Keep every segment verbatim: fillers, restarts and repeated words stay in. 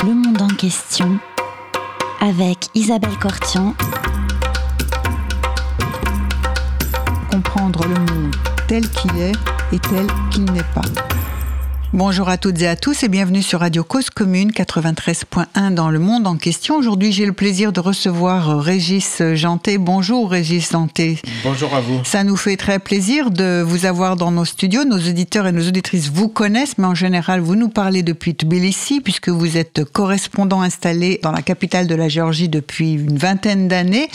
Le monde en question avec Isabelle Cortian. Comprendre le monde tel qu'il est et tel qu'il n'est pas. Bonjour à toutes et à tous et bienvenue sur Radio Cause Commune quatre-vingt-treize point un dans le monde en question. Aujourd'hui, j'ai le plaisir de recevoir Régis Janté. Bonjour Régis Janté. Bonjour à vous. Ça nous fait très plaisir de vous avoir dans nos studios. Nos auditeurs et nos auditrices vous connaissent, mais en général, vous nous parlez depuis Tbilissi puisque vous êtes correspondant installé dans la capitale de la Géorgie depuis une vingtaine d'années.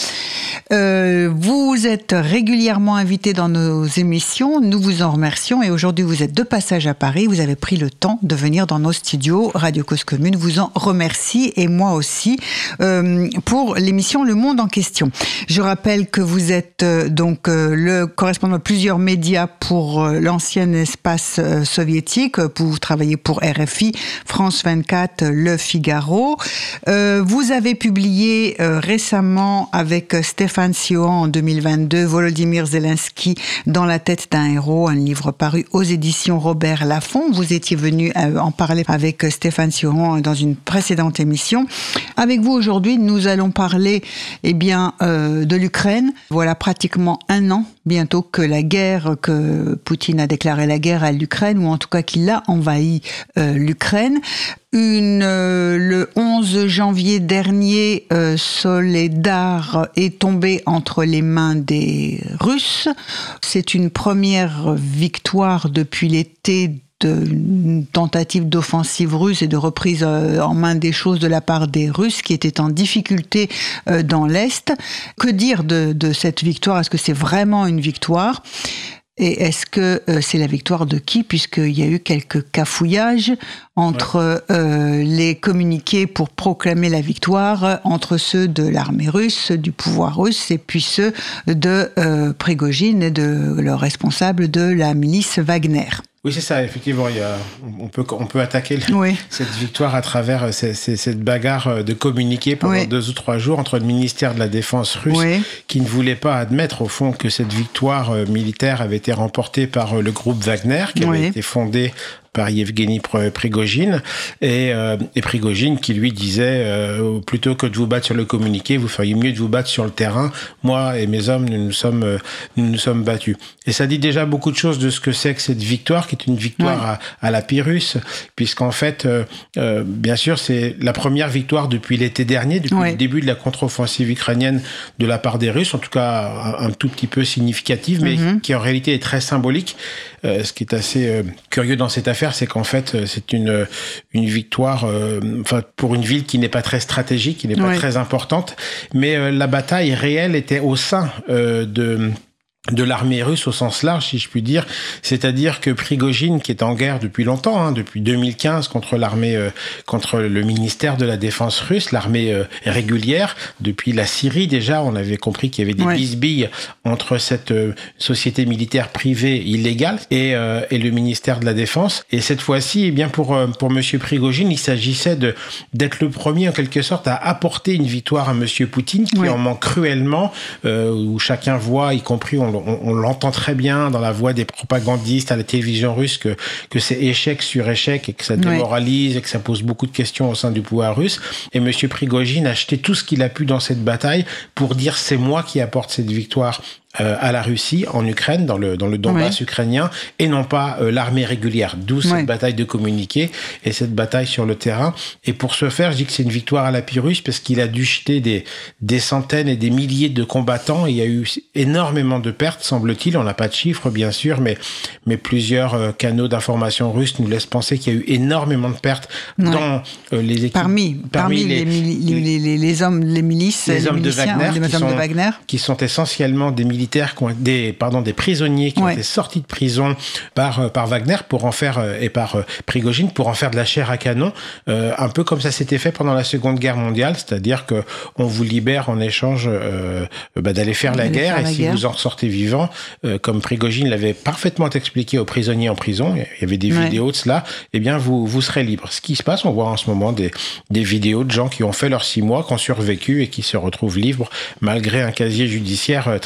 Euh, vous êtes régulièrement invité dans nos émissions. Nous vous en remercions et aujourd'hui, vous êtes de passage à Paris. Vous avez pris le temps de venir dans nos studios. Radio Cause Commune vous en remercie et moi aussi euh, pour l'émission Le Monde en question. Je rappelle que vous êtes euh, donc euh, le correspondant de plusieurs médias pour euh, l'ancien espace euh, soviétique. Vous travaillez pour R F I, France vingt-quatre, Le Figaro. Euh, vous avez publié euh, récemment avec Stéphane Sion en deux mille vingt-deux Volodymyr Zelensky dans la tête d'un héros, un livre paru aux éditions Robert Laffont. Vous étiez venu en parler avec Stéphane Sion dans une précédente émission. Avec vous aujourd'hui, nous allons parler eh bien, euh, de l'Ukraine. Voilà pratiquement un an bientôt que la guerre, que Poutine a déclaré la guerre à l'Ukraine, ou en tout cas qu'il a envahi euh, l'Ukraine. Une, euh, le onze janvier dernier, euh, Soledar est tombé entre les mains des Russes. C'est une première victoire depuis l'été une tentative d'offensive russe et de reprise en main des choses de la part des Russes qui étaient en difficulté dans l'Est. Que dire de, de cette victoire ? Est-ce que c'est vraiment une victoire ? Et est-ce que euh, c'est la victoire de qui ? Puisqu'il y a eu quelques cafouillages entre ouais. euh, les communiqués pour proclamer la victoire, entre ceux de l'armée russe, du pouvoir russe, et puis ceux de euh, Prigojine et de leur responsable de la milice Wagner. Oui, c'est ça, effectivement. Il y a, on, peut, on peut attaquer le, oui. cette victoire à travers ces, ces, cette bagarre de communiqués pendant oui. deux ou trois jours entre le ministère de la Défense russe oui. qui ne voulait pas admettre, au fond, que cette victoire militaire avait été remportée par le groupe Wagner, qui avait oui. été fondé par Yevgeny Prigojine, et, euh, et Prigojine qui lui disait euh, plutôt que de vous battre sur le communiqué, vous feriez mieux de vous battre sur le terrain. Moi et mes hommes, nous nous sommes, euh, nous nous sommes battus. Et ça dit déjà beaucoup de choses de ce que c'est que cette victoire, qui est une victoire ouais. à, à la Pyrrhus, puisqu'en fait, euh, euh, bien sûr, c'est la première victoire depuis l'été dernier, depuis ouais. le début de la contre-offensive ukrainienne de la part des Russes, en tout cas un, un tout petit peu significative, mais mm-hmm. qui en réalité est très symbolique. Euh, ce qui est assez euh, curieux dans cette affaire, c'est qu'en fait, euh, c'est une une victoire, euh, enfin pour une ville qui n'est pas très stratégique, qui n'est pas oui. très importante, mais euh, la bataille réelle était au sein euh, de de l'armée russe au sens large, si je puis dire. C'est-à-dire que Prigojine, qui est en guerre depuis longtemps, hein, depuis deux mille quinze, contre l'armée, euh, contre le ministère de la Défense russe, l'armée euh, régulière, depuis la Syrie déjà, on avait compris qu'il y avait des ouais. bisbilles entre cette euh, société militaire privée illégale et, euh, et le ministère de la Défense. Et cette fois-ci, eh bien pour euh, pour Monsieur Prigojine, il s'agissait de d'être le premier, en quelque sorte, à apporter une victoire à Monsieur Poutine, qui ouais. en manque cruellement, euh, où chacun voit, y compris on On, on l'entend très bien dans la voix des propagandistes à la télévision russe que, que c'est échec sur échec et que ça démoralise oui. et que ça pose beaucoup de questions au sein du pouvoir russe. Et M. Prigojine a acheté tout ce qu'il a pu dans cette bataille pour dire c'est moi qui apporte cette victoire Euh, à la Russie, en Ukraine, dans le, dans le Donbass oui. ukrainien, et non pas euh, l'armée régulière. D'où cette oui. bataille de communiqué et cette bataille sur le terrain. Et pour ce faire, je dis que c'est une victoire à la Pyrrhus parce qu'il a dû jeter des, des centaines et des milliers de combattants. Il y a eu énormément de pertes, semble-t-il. On n'a pas de chiffres, bien sûr, mais, mais plusieurs euh, canaux d'information russes nous laissent penser qu'il y a eu énormément de pertes oui. dans euh, les équipes. Parmi, parmi, parmi les, les, les, les, les hommes, les milices, les, les hommes, de Wagner, les qui hommes sont, de Wagner, qui sont essentiellement des militaires Qui ont, des, pardon, des prisonniers qui ouais. ont été sortis de prison par, par Wagner pour en faire, et par euh, Prigojine pour en faire de la chair à canon, euh, un peu comme ça s'était fait pendant la Seconde Guerre mondiale, c'est-à-dire que on vous libère en échange euh, bah, d'aller faire la guerre, faire la et guerre. Si vous en ressortez vivant, euh, comme Prigojine l'avait parfaitement expliqué aux prisonniers en prison, il y avait des ouais. vidéos de cela, eh bien vous, vous serez libre. Ce qui se passe, on voit en ce moment des, des vidéos de gens qui ont fait leurs six mois, qui ont survécu et qui se retrouvent libres malgré un casier judiciaire très très lourd.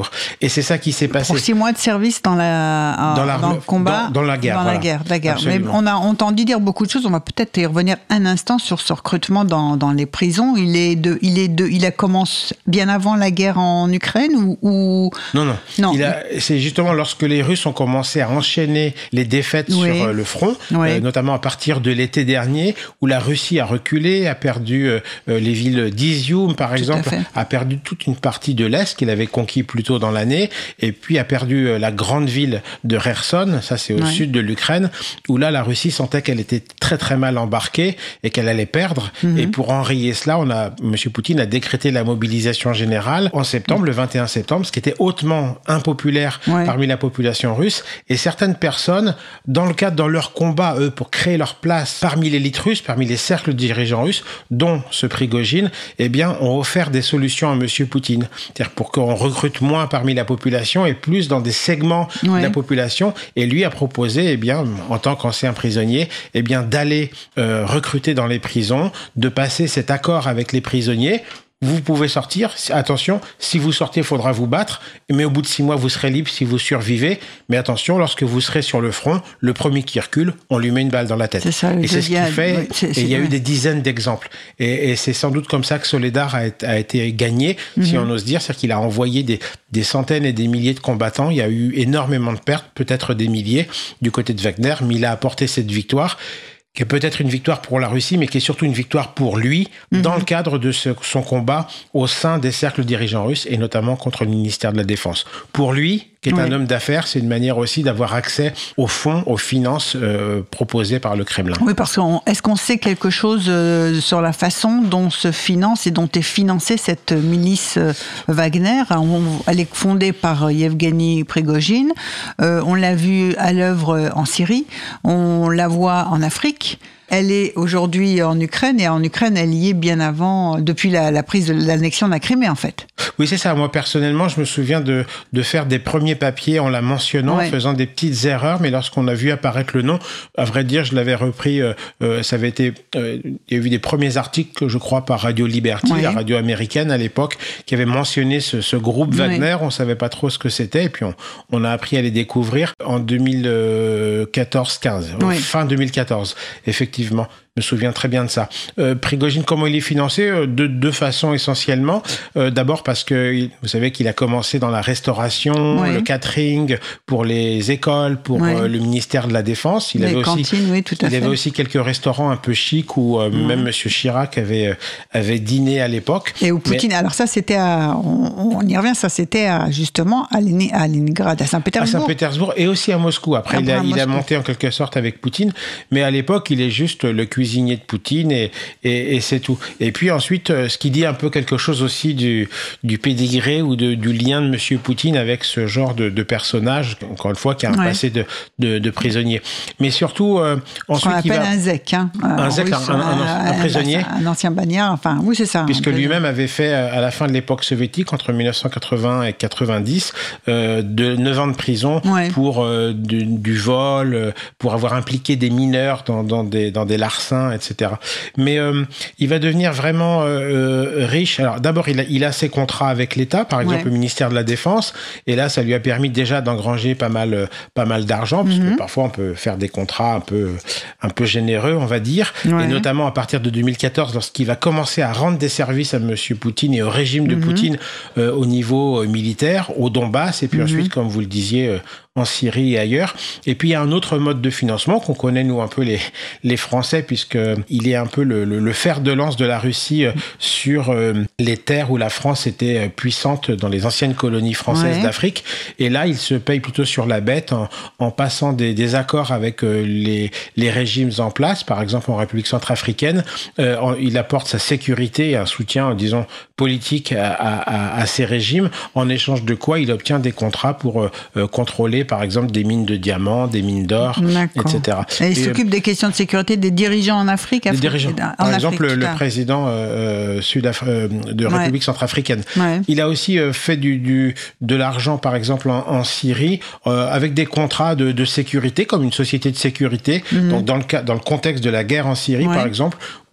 Saint-Pétersbourg. Et c'est ça qui s'est passé. Pour six mois de service dans, la, dans, dans le combat. Dans, dans la guerre. Dans voilà. la guerre, la guerre. Mais on a entendu dire beaucoup de choses. On va peut-être y revenir un instant sur ce recrutement dans, dans les prisons. Il est de, il est de, il a commencé bien avant la guerre en Ukraine ou, ou... Non, non. non. Il a, c'est justement lorsque les Russes ont commencé à enchaîner les défaites oui. sur euh, le front, oui. euh, notamment à partir de l'été dernier, où la Russie a reculé, a perdu euh, les villes d'Izium, par Tout exemple, a perdu toute une partie de l'Est qu'il avait conquis plus tôt dans l'année, et puis a perdu euh, la grande ville de Kherson, ça c'est au oui. sud de l'Ukraine, où là la Russie sentait qu'elle était très très mal embarquée et qu'elle allait perdre. Mm-hmm. Et pour enrayer cela, on a, M. Poutine a décrété la mobilisation générale en septembre, mm-hmm. le vingt et un septembre, ce qui était hautement impopulaire ouais. parmi la population russe. Et certaines personnes, dans le cadre, dans leur combat, eux, pour créer leur place parmi l'élite russe, parmi les cercles dirigeants russes, dont ce Prigojine, eh bien, ont offert des solutions à M. Poutine. C'est-à-dire pour qu'on recrute moins parmi la population et plus dans des segments ouais. de la population. Et lui a proposé, eh bien, en tant qu'ancien prisonnier, eh bien, d'aller euh, recruter dans les prisons, de passer cet accord avec les prisonniers. Vous pouvez sortir, attention, si vous sortez, il faudra vous battre, mais au bout de six mois, vous serez libre si vous survivez. Mais attention, lorsque vous serez sur le front, le premier qui recule, on lui met une balle dans la tête. C'est ça, et c'est ce qu'il fait, oui, c'est, c'est, et il y a ouais. eu des dizaines d'exemples. Et, et c'est sans doute comme ça que Soledar a, a été gagné, mm-hmm. si on ose dire, c'est-à-dire qu'il a envoyé des, des centaines et des milliers de combattants, il y a eu énormément de pertes, peut-être des milliers, du côté de Wagner, mais il a apporté cette victoire, qui est peut-être une victoire pour la Russie, mais qui est surtout une victoire pour lui, mmh. dans le cadre de ce, son combat au sein des cercles dirigeants russes, et notamment contre le ministère de la Défense. Pour lui, qui est oui. un homme d'affaires, c'est une manière aussi d'avoir accès aux fonds, aux finances euh, proposées par le Kremlin. Oui, parce que est-ce qu'on sait quelque chose euh, sur la façon dont se finance et dont est financée cette milice euh, Wagner? On, elle est fondée par Yevgeny Prigojine. Euh, on l'a vu à l'œuvre en Syrie. On la voit en Afrique. Elle est aujourd'hui en Ukraine, et en Ukraine, elle y est bien avant, depuis la, la prise de l'annexion de la Crimée, en fait. Oui, c'est ça. Moi, personnellement, je me souviens de, de faire des premiers papiers en la mentionnant, ouais. faisant des petites erreurs, mais lorsqu'on a vu apparaître le nom, à vrai dire, je l'avais repris, euh, euh, ça avait été, euh, il y a eu des premiers articles, je crois, par Radio Liberty, ouais. la radio américaine à l'époque, qui avait mentionné ce, ce groupe Wagner. Ouais. On savait pas trop ce que c'était, et puis on, on a appris à les découvrir en deux mille quatorze quinze, ouais. fin deux mille quatorze, effectivement. Effectivement, je me souviens très bien de ça. Euh, Prigojine, comment il est financé? De deux façons essentiellement. Euh, d'abord parce que vous savez qu'il a commencé dans la restauration, oui. le catering pour les écoles, pour oui. euh, le ministère de la Défense. Il, les avait, cantines, aussi, oui, tout à il fait. avait aussi quelques restaurants un peu chics où euh, oui. même M. Chirac avait, euh, avait dîné à l'époque. Et où Poutine, mais... alors ça c'était à, on, on y revient, ça c'était à, justement à, Léni, à Leningrad, à Saint-Pétersbourg. À Saint-Pétersbourg et aussi à Moscou. Après, il a, il a monté en quelque sorte avec Poutine, mais à l'époque, il est juste le cuisinier de Poutine et, et, et c'est tout. Et puis ensuite, ce qui dit un peu quelque chose aussi du, du pédigré ou de, du lien de M. Poutine avec ce genre de, de personnage, encore une fois, qui a un ouais. passé de, de, de prisonnier. Mais surtout, euh, ensuite, on il va... un zèque, hein. Un zèque, un, un, un, un prisonnier. Un, un ancien bagnard, enfin, oui, c'est ça. Puisque lui-même avait fait, à la fin de l'époque soviétique, entre mille neuf cent quatre-vingts et quatre-vingt-dix, euh, de neuf ans de prison ouais. pour euh, du, du vol, pour avoir impliqué des mineurs dans, dans, des, dans des larcins, et cetera. Mais euh, il va devenir vraiment euh, riche. Alors d'abord, il a, il a ses contrats avec l'État, par exemple ouais. le ministère de la Défense, et là, ça lui a permis déjà d'engranger pas mal, pas mal d'argent, parce mm-hmm. que parfois on peut faire des contrats un peu, un peu généreux, on va dire, ouais. et notamment à partir de deux mille quatorze, lorsqu'il va commencer à rendre des services à M. Poutine et au régime de mm-hmm. Poutine euh, au niveau euh, militaire, au Donbass, et puis mm-hmm. ensuite, comme vous le disiez, euh, en Syrie et ailleurs. Et puis, il y a un autre mode de financement qu'on connaît, nous, un peu les, les Français, puisqu'il est un peu le, le, le fer de lance de la Russie euh, sur euh, les terres où la France était puissante dans les anciennes colonies françaises ouais. d'Afrique. Et là, il se paye plutôt sur la bête en, en passant des, des accords avec euh, les, les régimes en place. Par exemple, en République centrafricaine, euh, en, il apporte sa sécurité et un soutien, disons, politique à, à, à ces régimes, en échange de quoi il obtient des contrats pour euh, contrôler par exemple des mines de diamants, des mines d'or, D'accord. et cetera. Et il et s'occupe euh, des questions de sécurité des dirigeants en Afrique. Des Afrique dirigeants. En par Afrique, exemple, le, le président euh, sud euh, de République ouais. centrafricaine. Ouais. Il a aussi euh, fait du, du, de l'argent, par exemple, en, en Syrie, euh, avec des contrats de, de sécurité, comme une société de sécurité. Mm-hmm. Donc, dans le, cas, dans le contexte de la guerre en Syrie, ouais. par exemple,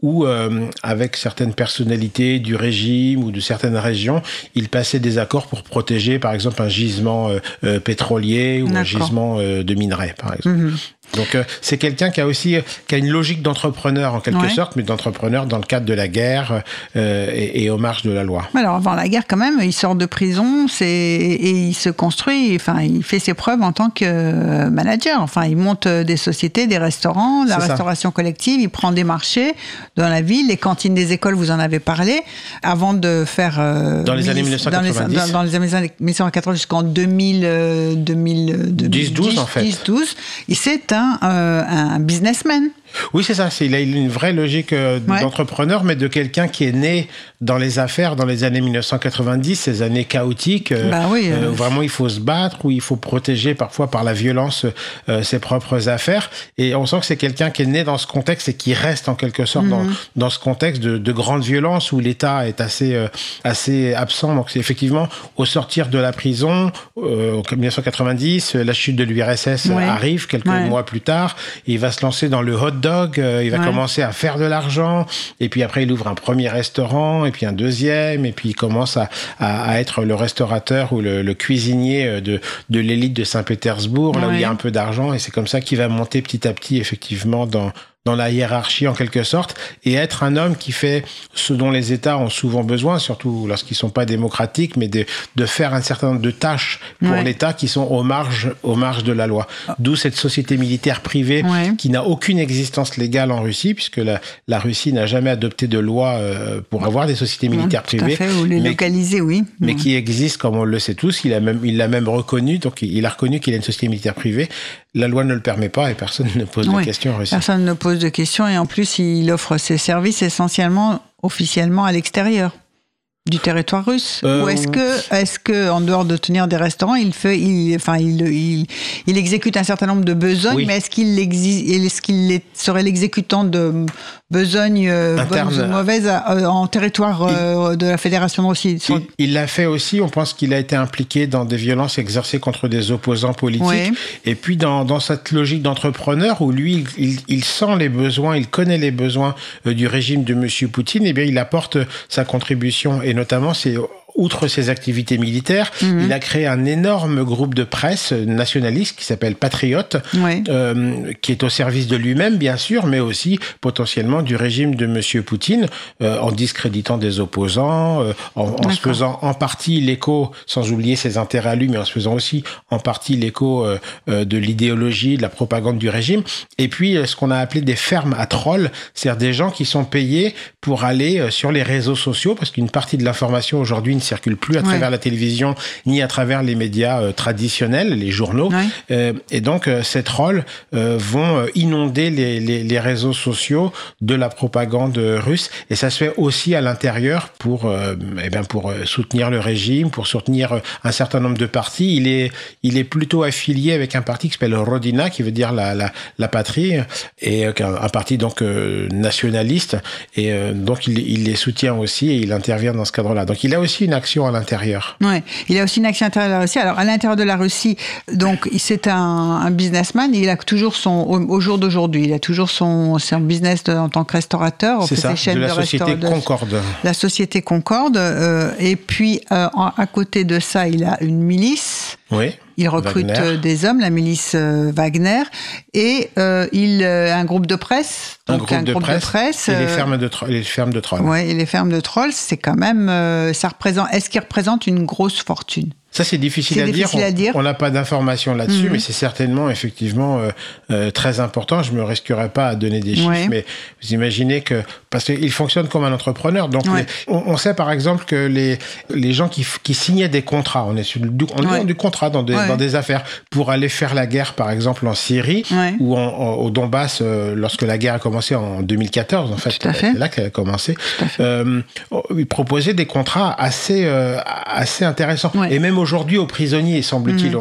où, euh, avec certaines personnalités du régime ou de certaines régions, il passait des accords pour protéger, par exemple, un gisement euh, euh, pétrolier ou D'accord. un gisement euh, de minerai, par exemple. Mmh. Donc euh, c'est quelqu'un qui a aussi qui a une logique d'entrepreneur en quelque ouais. sorte, mais d'entrepreneur dans le cadre de la guerre euh, et, et aux marges de la loi. Alors avant la guerre quand même, il sort de prison, c'est et il se construit, enfin il fait ses preuves en tant que manager. Enfin il monte des sociétés, des restaurants, la c'est restauration ça. collective, il prend des marchés dans la ville, les cantines des écoles, vous en avez parlé, avant de faire euh, dans les années mille neuf cent quatre-vingt-dix, dans les, dans, dans les années mille neuf cent quatre-vingt jusqu'en deux mille, deux mille dix douze en fait. dix douze, il c'est un Euh, un businessman. Oui, c'est ça. C'est, il a une vraie logique euh, ouais. d'entrepreneur, mais de quelqu'un qui est né dans les affaires dans les années mille neuf cent quatre-vingt-dix, ces années chaotiques, euh, bah oui, euh, euh, où vraiment il faut se battre, où il faut protéger parfois par la violence euh, ses propres affaires. Et on sent que c'est quelqu'un qui est né dans ce contexte et qui reste en quelque sorte mm-hmm. dans, dans ce contexte de, de grande violence où l'État est assez, euh, assez absent. Donc c'est effectivement, au sortir de la prison, euh, en mille neuf cent quatre-vingt-dix, la chute de l'U R S S ouais. arrive quelques ouais. mois plus tard. Et il va se lancer dans le hot dog, euh, il va ouais. commencer à faire de l'argent, et puis après il ouvre un premier restaurant, et puis un deuxième, et puis il commence à, à, à être le restaurateur ou le, le cuisinier de, de l'élite de Saint-Pétersbourg, ouais. là où il y a un peu d'argent, et c'est comme ça qu'il va monter petit à petit effectivement dans dans la hiérarchie en quelque sorte, et être un homme qui fait ce dont les États ont souvent besoin, surtout lorsqu'ils sont pas démocratiques, mais de, de faire un certain nombre de tâches pour ouais. l'État qui sont aux marges, aux marges de la loi. D'où cette société militaire privée ouais. qui n'a aucune existence légale en Russie, puisque la, la Russie n'a jamais adopté de loi euh, pour avoir des sociétés militaires ouais, privées. Tout à fait, ou les mais, localiser, oui. Mais ouais. qui existent, comme on le sait tous. Il a même, il l'a même reconnu, donc il a reconnu qu'il a une société militaire privée. La loi ne le permet pas et personne ne pose oui, de questions en Russie. Personne ne pose de questions et en plus, il offre ses services essentiellement, officiellement à l'extérieur du territoire russe. Euh, Ou est-ce que, est-ce que, en dehors de tenir des restaurants, il fait, il, enfin, il, il, il exécute un certain nombre de besognes, oui. mais est-ce qu'il exi- est-ce qu'il serait l'exécutant de besognes bonnes ou mauvaises en territoire il, de la Fédération de Russie? Il, il l'a fait aussi. On pense qu'il a été impliqué dans des violences exercées contre des opposants politiques. Oui. Et puis dans, dans cette logique d'entrepreneur où lui, il, il sent les besoins, il connaît les besoins du régime de Monsieur Poutine. Et bien, il apporte sa contribution. Et notamment, c'est outre ses activités militaires, mmh. il a créé un énorme groupe de presse nationaliste qui s'appelle Patriote, oui. euh, qui est au service de lui-même, bien sûr, mais aussi potentiellement du régime de Monsieur Poutine, euh, en discréditant des opposants, euh, en, en se faisant en partie l'écho, sans oublier ses intérêts à lui, mais en se faisant aussi en partie l'écho euh, euh, de l'idéologie, de la propagande du régime. Et puis, euh, ce qu'on a appelé des fermes à trolls, c'est-à-dire des gens qui sont payés pour aller euh, sur les réseaux sociaux, parce qu'une partie de l'information aujourd'hui ne circule plus à travers ouais. la télévision ni à travers les médias euh, traditionnels, les journaux. Ouais. Euh, et donc, euh, ces trolls euh, vont inonder les, les, les réseaux sociaux de la propagande russe. Et ça se fait aussi à l'intérieur pour, euh, eh bien, pour soutenir le régime, pour soutenir un certain nombre de partis. Il est, il est plutôt affilié avec un parti qui s'appelle Rodina, qui veut dire la, la, la patrie, et euh, un, un parti donc euh, nationaliste. Et euh, donc, il, il les soutient aussi et il intervient dans ce cadre-là. Donc, il a aussi une action à l'intérieur. Oui, il a aussi une action à l'intérieur de la Russie. Alors, à l'intérieur de la Russie, donc, c'est un, un businessman. Il a toujours son, au, au jour d'aujourd'hui, il a toujours son, son business de, en tant que restaurateur. C'est ça, de la de société restaur- Concorde. La société Concorde. Euh, et puis, euh, en, à côté de ça, il a une milice. Oui. Il recrute Wagner. des hommes, la milice euh, Wagner, et euh, il a un groupe de presse. Un donc groupe, un de, groupe presse, de presse. Et les fermes de, tro- les fermes de trolls. Oui, et les fermes de trolls, c'est quand même. Euh, ça représente, est-ce qu'il représente une grosse fortune ? Ça, c'est difficile, c'est à, difficile dire. à dire. On n'a pas d'informations là-dessus, mmh. mais c'est certainement, effectivement, euh, euh, très important. Je ne me risquerais pas à donner des chiffres, ouais. mais vous imaginez que... Parce qu'il fonctionne comme un entrepreneur. Donc, ouais. les, on, on sait, par exemple, que les, les gens qui, qui signaient des contrats, on est sur du, on ouais. est dans du contrat, dans des, ouais. dans des affaires, pour aller faire la guerre, par exemple, en Syrie, ouais. ou en, en, au Donbass, euh, lorsque la guerre a commencé en deux mille quatorze, en fait. Tout à fait. C'est là qu'elle a commencé. Euh, ils proposaient des contrats assez, euh, assez intéressants. Ouais. Et même aujourd'hui, aux prisonniers, semble-t-il, mmh. on,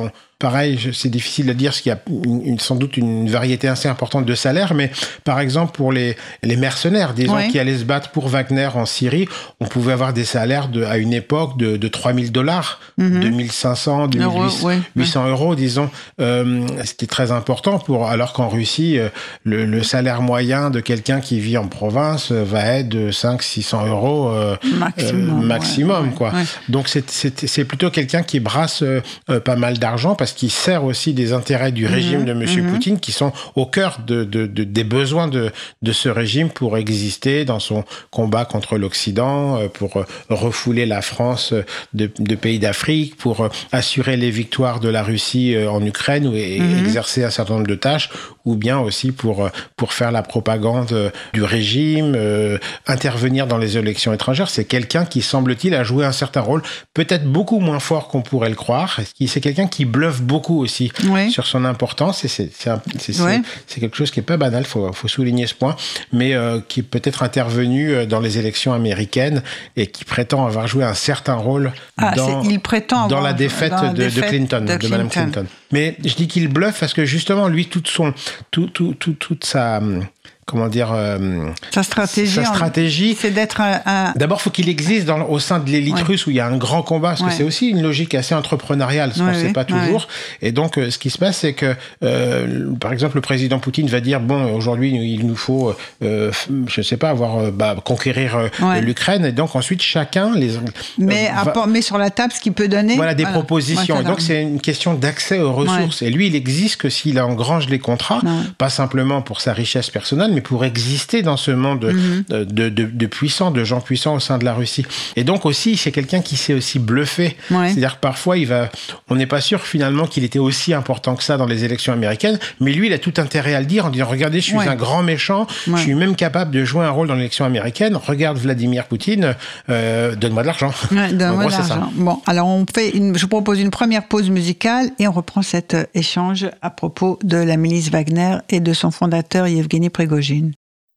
pareil, je, c'est difficile de dire, parce qu'il y a une, une, sans doute une variété assez importante de salaires, mais par exemple, pour les, les mercenaires, disons, oui. qui allaient se battre pour Wagner en Syrie, on pouvait avoir des salaires de, à une époque de, de trois mille dollars, mm-hmm. deux mille cinq cents, deux mille huit cents euros, disons. Euh, c'était très important, pour, alors qu'en Russie, le, le salaire moyen de quelqu'un qui vit en province va être de cinq cents à six cents euros euh, maximum. Euh, maximum ouais, quoi. Ouais. Donc, c'est, c'est, c'est plutôt quelqu'un qui brasse euh, pas mal d'argent parce qu'il sert aussi des intérêts du régime mmh, de M. Mmh. Poutine qui sont au cœur de, de, de, des besoins de, de ce régime pour exister dans son combat contre l'Occident, pour refouler la France de, de pays d'Afrique, pour assurer les victoires de la Russie en Ukraine et mmh. exercer un certain nombre de tâches, ou bien aussi pour, pour faire la propagande du régime, euh, intervenir dans les élections étrangères. C'est quelqu'un qui, semble-t-il, a joué un certain rôle, peut-être beaucoup moins fort qu'on pourrait le croire. C'est quelqu'un qui bluffe beaucoup aussi oui. sur son importance, et c'est, c'est, un, c'est, oui. c'est, c'est quelque chose qui n'est pas banal, il faut, faut souligner ce point, mais euh, qui est peut-être intervenu dans les élections américaines et qui prétend avoir joué un certain rôle ah, dans, il prétend dans la défaite, dans la de, défaite de, Clinton, de, Clinton. de Mme Clinton. Mais je dis qu'il bluffe parce que justement, lui, toute, son, tout, tout, tout, toute sa... Comment dire euh, Sa stratégie, sa stratégie c'est d'être un... un... D'abord, il faut qu'il existe dans, au sein de l'élite ouais. russe où il y a un grand combat, parce ouais. que c'est aussi une logique assez entrepreneuriale, ce ouais, qu'on ne sait pas toujours. Ouais. Et donc, euh, ce qui se passe, c'est que, euh, par exemple, le président Poutine va dire, bon, aujourd'hui, il nous faut, euh, je ne sais pas, avoir, bah, conquérir euh, ouais. l'Ukraine. Et donc, ensuite, chacun... les Mais euh, va, met sur la table ce qu'il peut donner. Voilà, des voilà. propositions. Ouais, et donc, c'est une question d'accès aux ressources. Ouais. Et lui, il existe que s'il engrange les contrats, ouais. pas simplement pour sa richesse personnelle, mais pour exister dans ce monde mm-hmm. de, de, de, de puissants, de gens puissants au sein de la Russie. Et donc aussi, c'est quelqu'un qui sait aussi bluffer. Ouais. C'est-à-dire que parfois, il va, on n'est pas sûr finalement qu'il était aussi important que ça dans les élections américaines, mais lui, il a tout intérêt à le dire en disant, regardez, je suis ouais. un grand méchant, ouais. je suis même capable de jouer un rôle dans l'élection américaine, regarde Vladimir Poutine, euh, donne-moi de l'argent. Ouais, donne-moi de l'argent. Bon, alors on fait une, je propose une première pause musicale et on reprend cet échange à propos de la milice Wagner et de son fondateur Yevgeny Prigojine.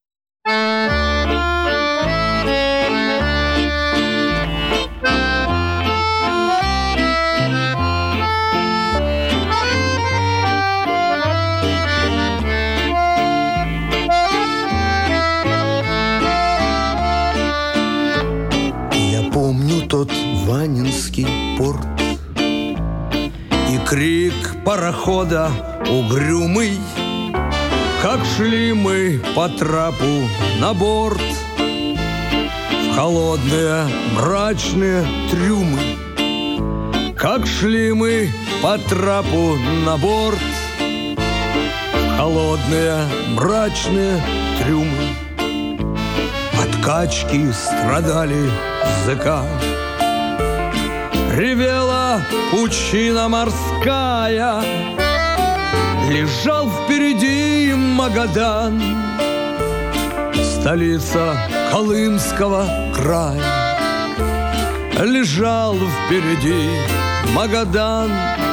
Тот Ванинский порт и крик парохода угрюмый, как шли мы по трапу на борт в холодные мрачные трюмы, как шли мы по трапу на борт в холодные мрачные трюмы. От качки страдали языка, ревела пучина морская, лежал впереди Магадан, столица Колымского края. Лежал впереди Магадан,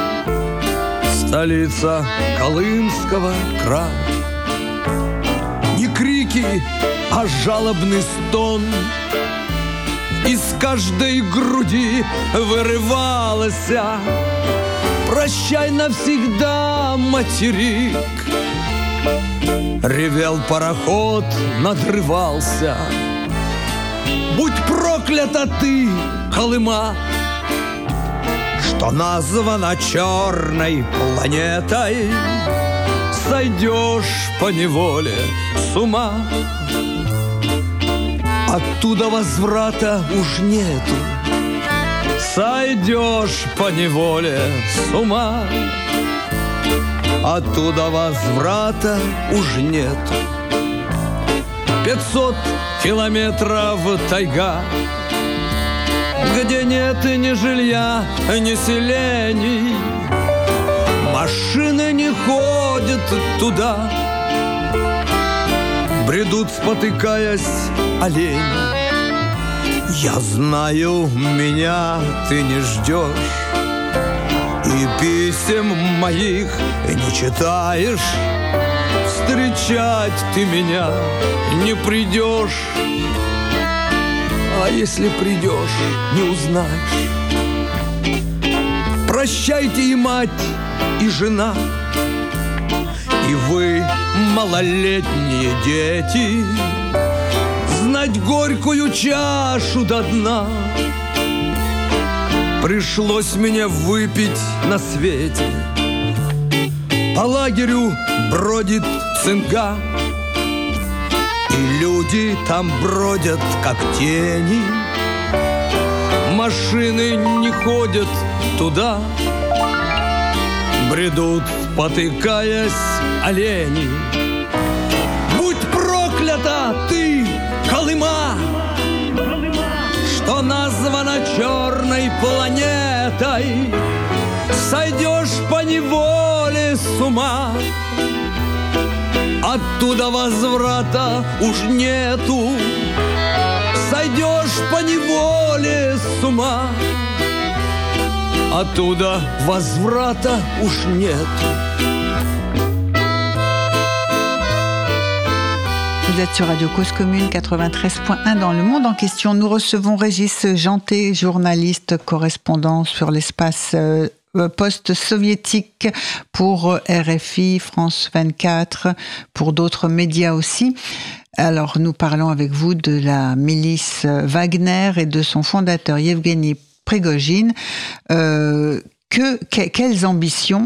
столица Колымского края. Не крики, а жалобный стон из каждой груди вырывалось: прощай навсегда, материк. Ревел пароход, надрывался: будь проклята ты, Колыма, что названа черной планетой, сойдешь поневоле с ума. Оттуда возврата уж нету, сойдешь поневоле с ума. Оттуда возврата уж нету. Пятьсот километров тайга, где нет ни жилья, ни селений. Машины не ходят туда, бредут, спотыкаясь, олени. Я знаю, меня ты не ждешь, и писем моих не читаешь. Встречать ты меня не придешь, а если придешь, не узнаешь. Прощайте и мать, и жена, и вы, малолетние дети, знать горькую чашу до дна пришлось мне выпить на свете. По лагерю бродит цинга, и люди там бродят, как тени. Машины не ходят туда, бредут, спотыкаясь, олени. Будь проклята ты, Колыма, что названа черной планетой, сойдешь поневоле с ума. Оттуда возврата уж нету, сойдешь поневоле с ума. Оттуда возврата уж нету. Vous êtes sur Radio Cause Commune quatre-vingt-treize point un dans le monde en question. Nous recevons Régis Janté, journaliste, correspondant sur l'espace euh, post-soviétique pour R F I, France vingt-quatre, pour d'autres médias aussi. Alors, nous parlons avec vous de la milice Wagner et de son fondateur Yevgeny Prigojine. Euh, que, que, quelles ambitions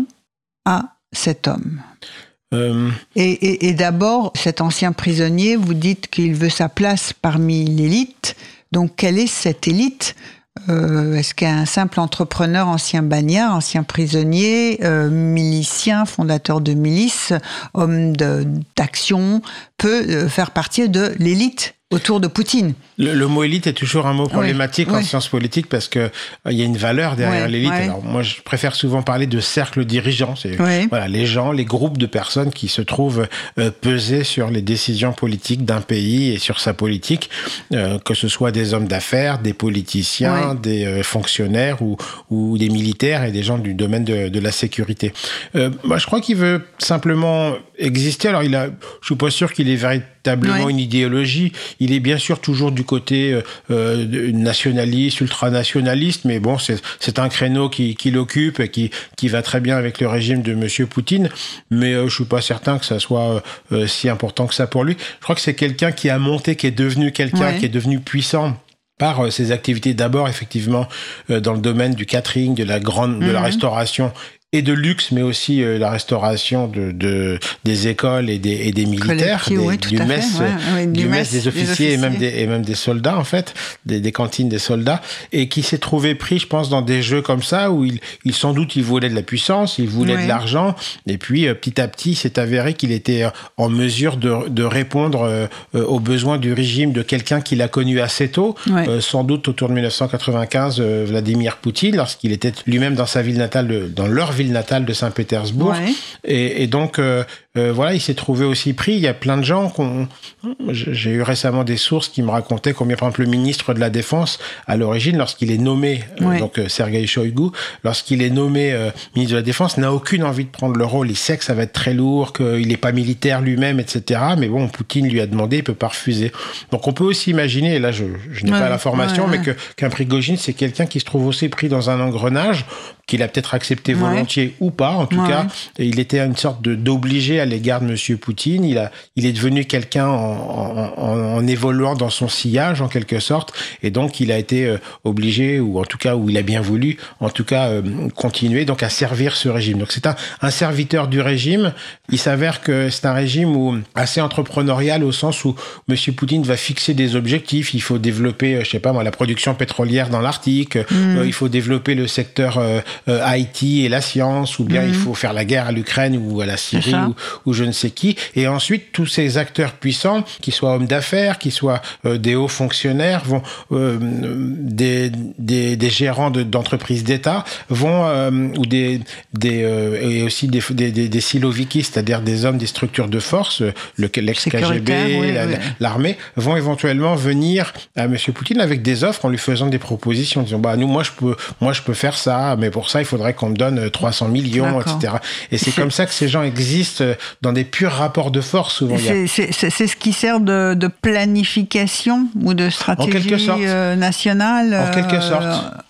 a cet homme ? Euh... Et, et, et d'abord, cet ancien prisonnier, vous dites qu'il veut sa place parmi l'élite. Donc, quelle est cette élite ? Euh, est-ce qu'un simple entrepreneur, ancien bagnard, ancien prisonnier, euh, milicien, fondateur de milice, homme de, d'action, peut euh, faire partie de l'élite autour de Poutine? Le, le mot élite est toujours un mot problématique oui, en oui. sciences politiques parce que il euh, y a une valeur derrière oui, l'élite. Oui. Alors moi, je préfère souvent parler de cercle dirigeant. C'est oui. voilà les gens, les groupes de personnes qui se trouvent euh, peser sur les décisions politiques d'un pays et sur sa politique, euh, que ce soit des hommes d'affaires, des politiciens, oui. des euh, fonctionnaires ou, ou des militaires et des gens du domaine de, de la sécurité. Euh, moi, je crois qu'il veut simplement exister. Alors, il a, je suis pas sûr qu'il ait véritablement oui. une idéologie. Il est bien sûr toujours du côté euh, nationaliste, ultranationaliste, mais bon, c'est, c'est un créneau qui, qui l'occupe et qui, qui va très bien avec le régime de Monsieur Poutine, mais euh, je suis pas certain que ça soit euh, si important que ça pour lui. Je crois que c'est quelqu'un qui a monté, qui est devenu quelqu'un, ouais. qui est devenu puissant par euh, ses activités d'abord, effectivement, euh, dans le domaine du catering, de la grande, mmh. de la restauration, et de luxe, mais aussi euh, la restauration de, de, des écoles et des, et des militaires, des, oui, du, mess, ouais, ouais, du, du mess des officiers, des officiers. Et, même des, et même des soldats, en fait, des, des cantines des soldats, et qui s'est trouvé pris, je pense, dans des jeux comme ça, où il, il sans doute, il voulait de la puissance, il voulait ouais. de l'argent, et puis euh, petit à petit, c'est avéré qu'il était en mesure de, de répondre euh, aux besoins du régime de quelqu'un qu'il a connu assez tôt, ouais. euh, sans doute autour de dix-neuf cent quatre-vingt-quinze, euh, Vladimir Poutine, lorsqu'il était lui-même dans sa ville natale, de, dans leur ville natale de Saint-Pétersbourg. Ouais. Et, et donc, euh, euh, voilà, il s'est trouvé aussi pris. Il y a plein de gens qu'on... J'ai eu récemment des sources qui me racontaient combien, par exemple, le ministre de la Défense, à l'origine, lorsqu'il est nommé, ouais. euh, donc euh, Sergueï Shoïgu, lorsqu'il est nommé euh, ministre de la Défense, n'a aucune envie de prendre le rôle. Il sait que ça va être très lourd, qu'il n'est pas militaire lui-même, et cetera. Mais bon, Poutine lui a demandé, il ne peut pas refuser. Donc, on peut aussi imaginer, et là, je, je n'ai ouais. pas l'information, ouais, ouais. mais que, qu'un Prigojine, c'est quelqu'un qui se trouve aussi pris dans un engrenage, qu'il a peut-être accepté volontiers ouais. ou pas, en tout ouais. cas. Il était une sorte de, d'obligé à l'égard de Monsieur Poutine. Il, a, il est devenu quelqu'un en, en, en évoluant dans son sillage, en quelque sorte. Et donc, il a été euh, obligé, ou en tout cas, où il a bien voulu, en tout cas, euh, continuer donc à servir ce régime. Donc, c'est un, un serviteur du régime. Il s'avère que c'est un régime où, assez entrepreneurial, au sens où Monsieur Poutine va fixer des objectifs. Il faut développer, je sais pas moi, la production pétrolière dans l'Arctique. Mmh. Euh, il faut développer le secteur... Euh, Euh, I T et la science, ou bien mmh. il faut faire la guerre à l'Ukraine ou à la Syrie ou, ou je ne sais qui. Et ensuite, tous ces acteurs puissants, qu'ils soient hommes d'affaires, qu'ils soient euh, des hauts fonctionnaires, vont euh, des, des, des gérants de, d'entreprises d'État, vont euh, ou des, des euh, et aussi des, des, des, des siloviki, c'est-à-dire des hommes des structures de force, le, l'ex-K G B, oui, la, oui. l'armée, vont éventuellement venir à Monsieur Poutine avec des offres en lui faisant des propositions, en disant bah nous, moi je peux, moi je peux faire ça, mais pour ça il faudrait qu'on me donne trois cents millions, D'accord. et cetera. Et c'est, c'est comme ça que ces gens existent dans des purs rapports de force souvent. C'est, c'est, c'est, c'est ce qui sert de, de planification ou de stratégie euh, nationale. En quelque sorte.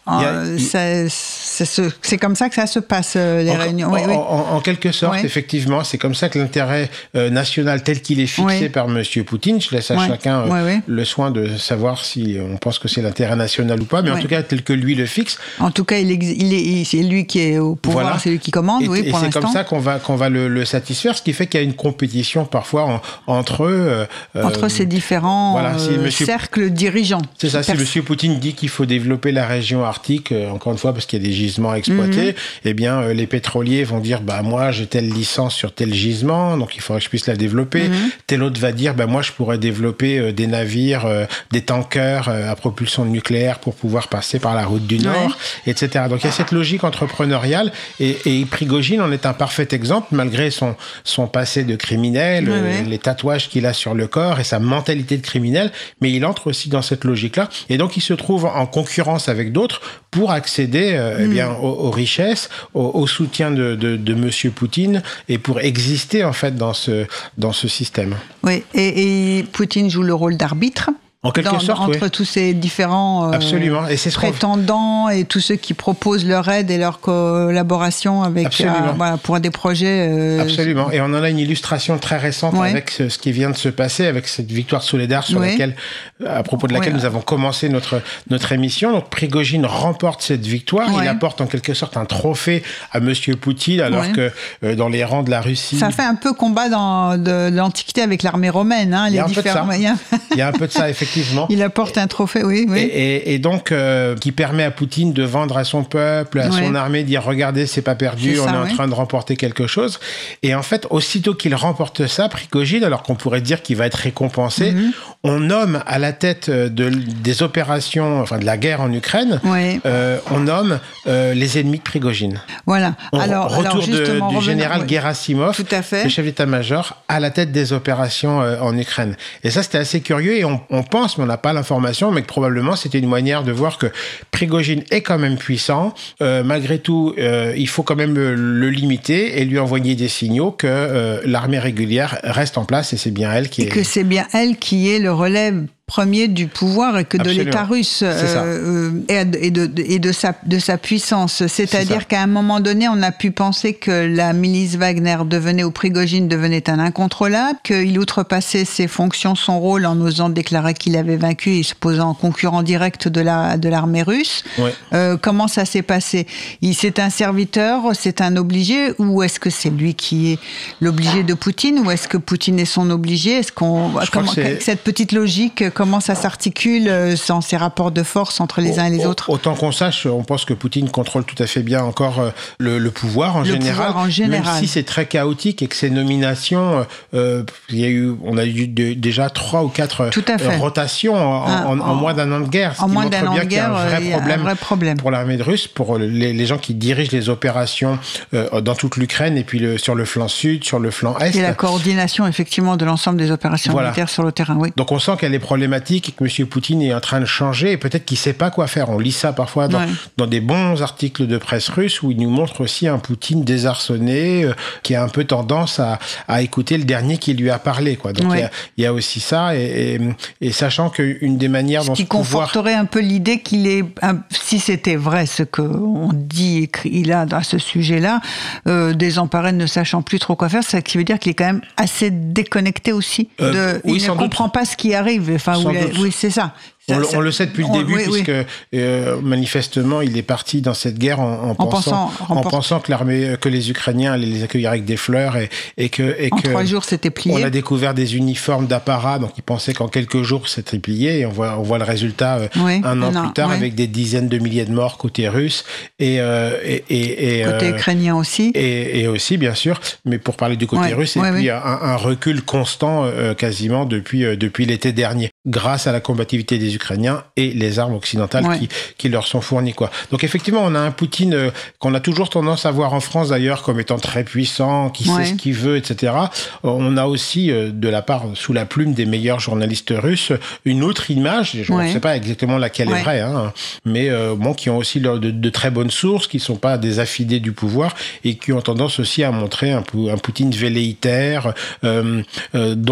Euh, c'est, c'est, c'est comme ça que ça se passe, les en, réunions. En, Oui, oui. En, en quelque sorte, oui. effectivement, c'est comme ça que l'intérêt euh, national tel qu'il est fixé oui. par M. Poutine, je laisse à oui. chacun euh, oui, oui. le soin de savoir si on pense que c'est l'intérêt national ou pas, mais oui. en tout cas, tel que lui le fixe. En tout cas, il est, il est, c'est lui qui est au pouvoir, voilà. c'est lui qui commande, et, oui, et pour c'est l'instant. comme ça qu'on va, qu'on va le, le satisfaire, ce qui fait qu'il y a une compétition parfois en, entre eux. Euh, entre ces différents voilà, si euh, monsieur, cercles dirigeants. C'est ça, si Pers- M. Poutine dit qu'il faut développer la région arctique, euh, encore une fois, parce qu'il y a des gisements à exploiter, mm-hmm. eh bien, euh, les pétroliers vont dire, bah, moi, j'ai telle licence sur tel gisement, donc il faudrait que je puisse la développer. Mm-hmm. Tel autre va dire, bah, moi, je pourrais développer euh, des navires, euh, des tankers euh, à propulsion nucléaire pour pouvoir passer par la route du Nord, ouais. et cetera. Donc, il y a cette logique entrepreneuriale, et, et Prigojine en est un parfait exemple, malgré son, son passé de criminel, ouais, euh, ouais. les tatouages qu'il a sur le corps et sa mentalité de criminel, mais il entre aussi dans cette logique-là, et donc il se trouve en concurrence avec d'autres pour accéder euh, mm. eh bien, aux, aux richesses, au, au soutien de, de, de M. Poutine, et pour exister en fait dans ce, dans ce système. Oui, et, et Poutine joue le rôle d'arbitre. En quelque Dans, sorte, entre oui. tous ces différents euh, Absolument. Et c'est ce prétendants et tous ceux qui proposent leur aide et leur collaboration avec, euh, voilà, pour des projets. Euh... Absolument. Et on en a une illustration très récente ouais. avec ce, ce qui vient de se passer, avec cette victoire de Soledar sur ouais. laquelle, à propos de laquelle ouais. nous avons commencé notre, notre émission. Donc Prigojine remporte cette victoire. Ouais. Il apporte en quelque sorte un trophée à M. Poutine, alors ouais. que euh, dans les rangs de la Russie... Ça fait un peu combat dans, de, de l'Antiquité avec l'armée romaine. Hein, il, y les a différents... il, y a... il y a un peu de ça, effectivement. Il apporte un trophée, oui. oui. Et, et, et donc, euh, qui permet à Poutine de vendre à son peuple, à ouais. son armée, dire regardez, c'est pas perdu, c'est on ça, est en ouais. train de remporter quelque chose. Et en fait, aussitôt qu'il remporte ça, Prigojine, alors qu'on pourrait dire qu'il va être récompensé, mm-hmm. on nomme à la tête de, des opérations, enfin de la guerre en Ukraine, ouais. euh, on nomme euh, les ennemis de Prigojine. Voilà. On, alors, retour alors, de, du revenons, général ouais. Gerasimov, Tout à fait. le chef d'état-major, à la tête des opérations euh, en Ukraine. Et ça, c'était assez curieux, et on, on pense, mais on n'a pas l'information, mais que probablement c'était une manière de voir que Prigojine est quand même puissant. Euh, malgré tout, euh, il faut quand même le, le limiter et lui envoyer des signaux que euh, l'armée régulière reste en place, et c'est bien elle qui et est... Et que c'est bien elle qui est le relais premier du pouvoir et que Absolument. de l'État russe euh, et, de, de, et de, sa, de sa puissance. C'est-à-dire c'est qu'à un moment donné, on a pu penser que la milice Wagner devenait, ou Prigojine devenait un incontrôlable, qu'il outrepassait ses fonctions, son rôle, en osant déclarer qu'il avait vaincu et se posant en concurrent direct de, la, de l'armée russe. Ouais. Euh, comment ça s'est passé? Il, c'est un serviteur, c'est un obligé, ou est-ce que c'est lui qui est l'obligé de Poutine, ou est-ce que Poutine est son obligé? Est-ce qu'on, comment, que cette petite logique, comment ça s'articule dans ces rapports de force entre les uns et les autres? Autant qu'on sache, on pense que Poutine contrôle tout à fait bien encore le, le pouvoir en le général, pouvoir en général, même si c'est très chaotique et que ces nominations, euh, il y a eu, on a eu de, déjà trois ou quatre euh, rotations en, ah, en, en, en moins d'un an de guerre, ce en qui moins montre d'un bien an de qu'il y a un vrai, guerre, problème, un vrai problème pour l'armée de russe, pour les, les gens qui dirigent les opérations euh, dans toute l'Ukraine et puis le, sur le flanc sud, sur le flanc est. Et la coordination effectivement de l'ensemble des opérations voilà. militaires sur le terrain, oui. Donc on sent qu'elle est problématique et que M. Poutine est en train de changer et peut-être qu'il ne sait pas quoi faire. On lit ça parfois dans, ouais. dans des bons articles de presse russe où il nous montre aussi un Poutine désarçonné euh, qui a un peu tendance à, à écouter le dernier qui lui a parlé, quoi. Donc il ouais. y, y a aussi ça et, et, et sachant qu'une des manières ce dont qui ce pouvoir... conforterait un peu l'idée qu'il est, un, si c'était vrai ce qu'on dit écrit là à ce sujet-là, euh, désemparé, ne sachant plus trop quoi faire, ça qui veut dire qu'il est quand même assez déconnecté aussi. De, euh, oui, il ne comprend doute. pas ce qui arrive. Enfin, où il, oui, c'est ça. On, ça, le, ça, on le sait depuis on, le début, oui, puisque oui. Euh, manifestement, il est parti dans cette guerre en, en, en, pensant, pensant, en pensant que l'armée, que les Ukrainiens allaient les accueillir avec des fleurs et, et que et en que trois jours c'était plié. On a découvert des uniformes d'apparat, donc il pensait qu'en quelques jours c'était plié. Et on voit on voit le résultat euh, oui, un an non, plus tard oui. avec des dizaines de milliers de morts côté russe et euh, et, et, et côté euh, ukrainien aussi. Et, et aussi bien sûr, mais pour parler du côté oui, russe, et oui, puis oui. Un, un recul constant euh, quasiment depuis euh, depuis l'été dernier, grâce à la combativité des Ukrainiens et les armes occidentales ouais. qui, qui leur sont fournies, quoi. Donc effectivement, on a un Poutine euh, qu'on a toujours tendance à voir en France d'ailleurs comme étant très puissant, qui ouais. sait ce qu'il veut, et cetera. On a aussi euh, de la part, sous la plume des meilleurs journalistes russes, une autre image, je ne ouais. sais pas exactement laquelle ouais. est vraie, hein, mais euh, bon, qui ont aussi de, de très bonnes sources, qui ne sont pas des affidés du pouvoir et qui ont tendance aussi à montrer un, un Poutine velléitaire, euh, euh, dont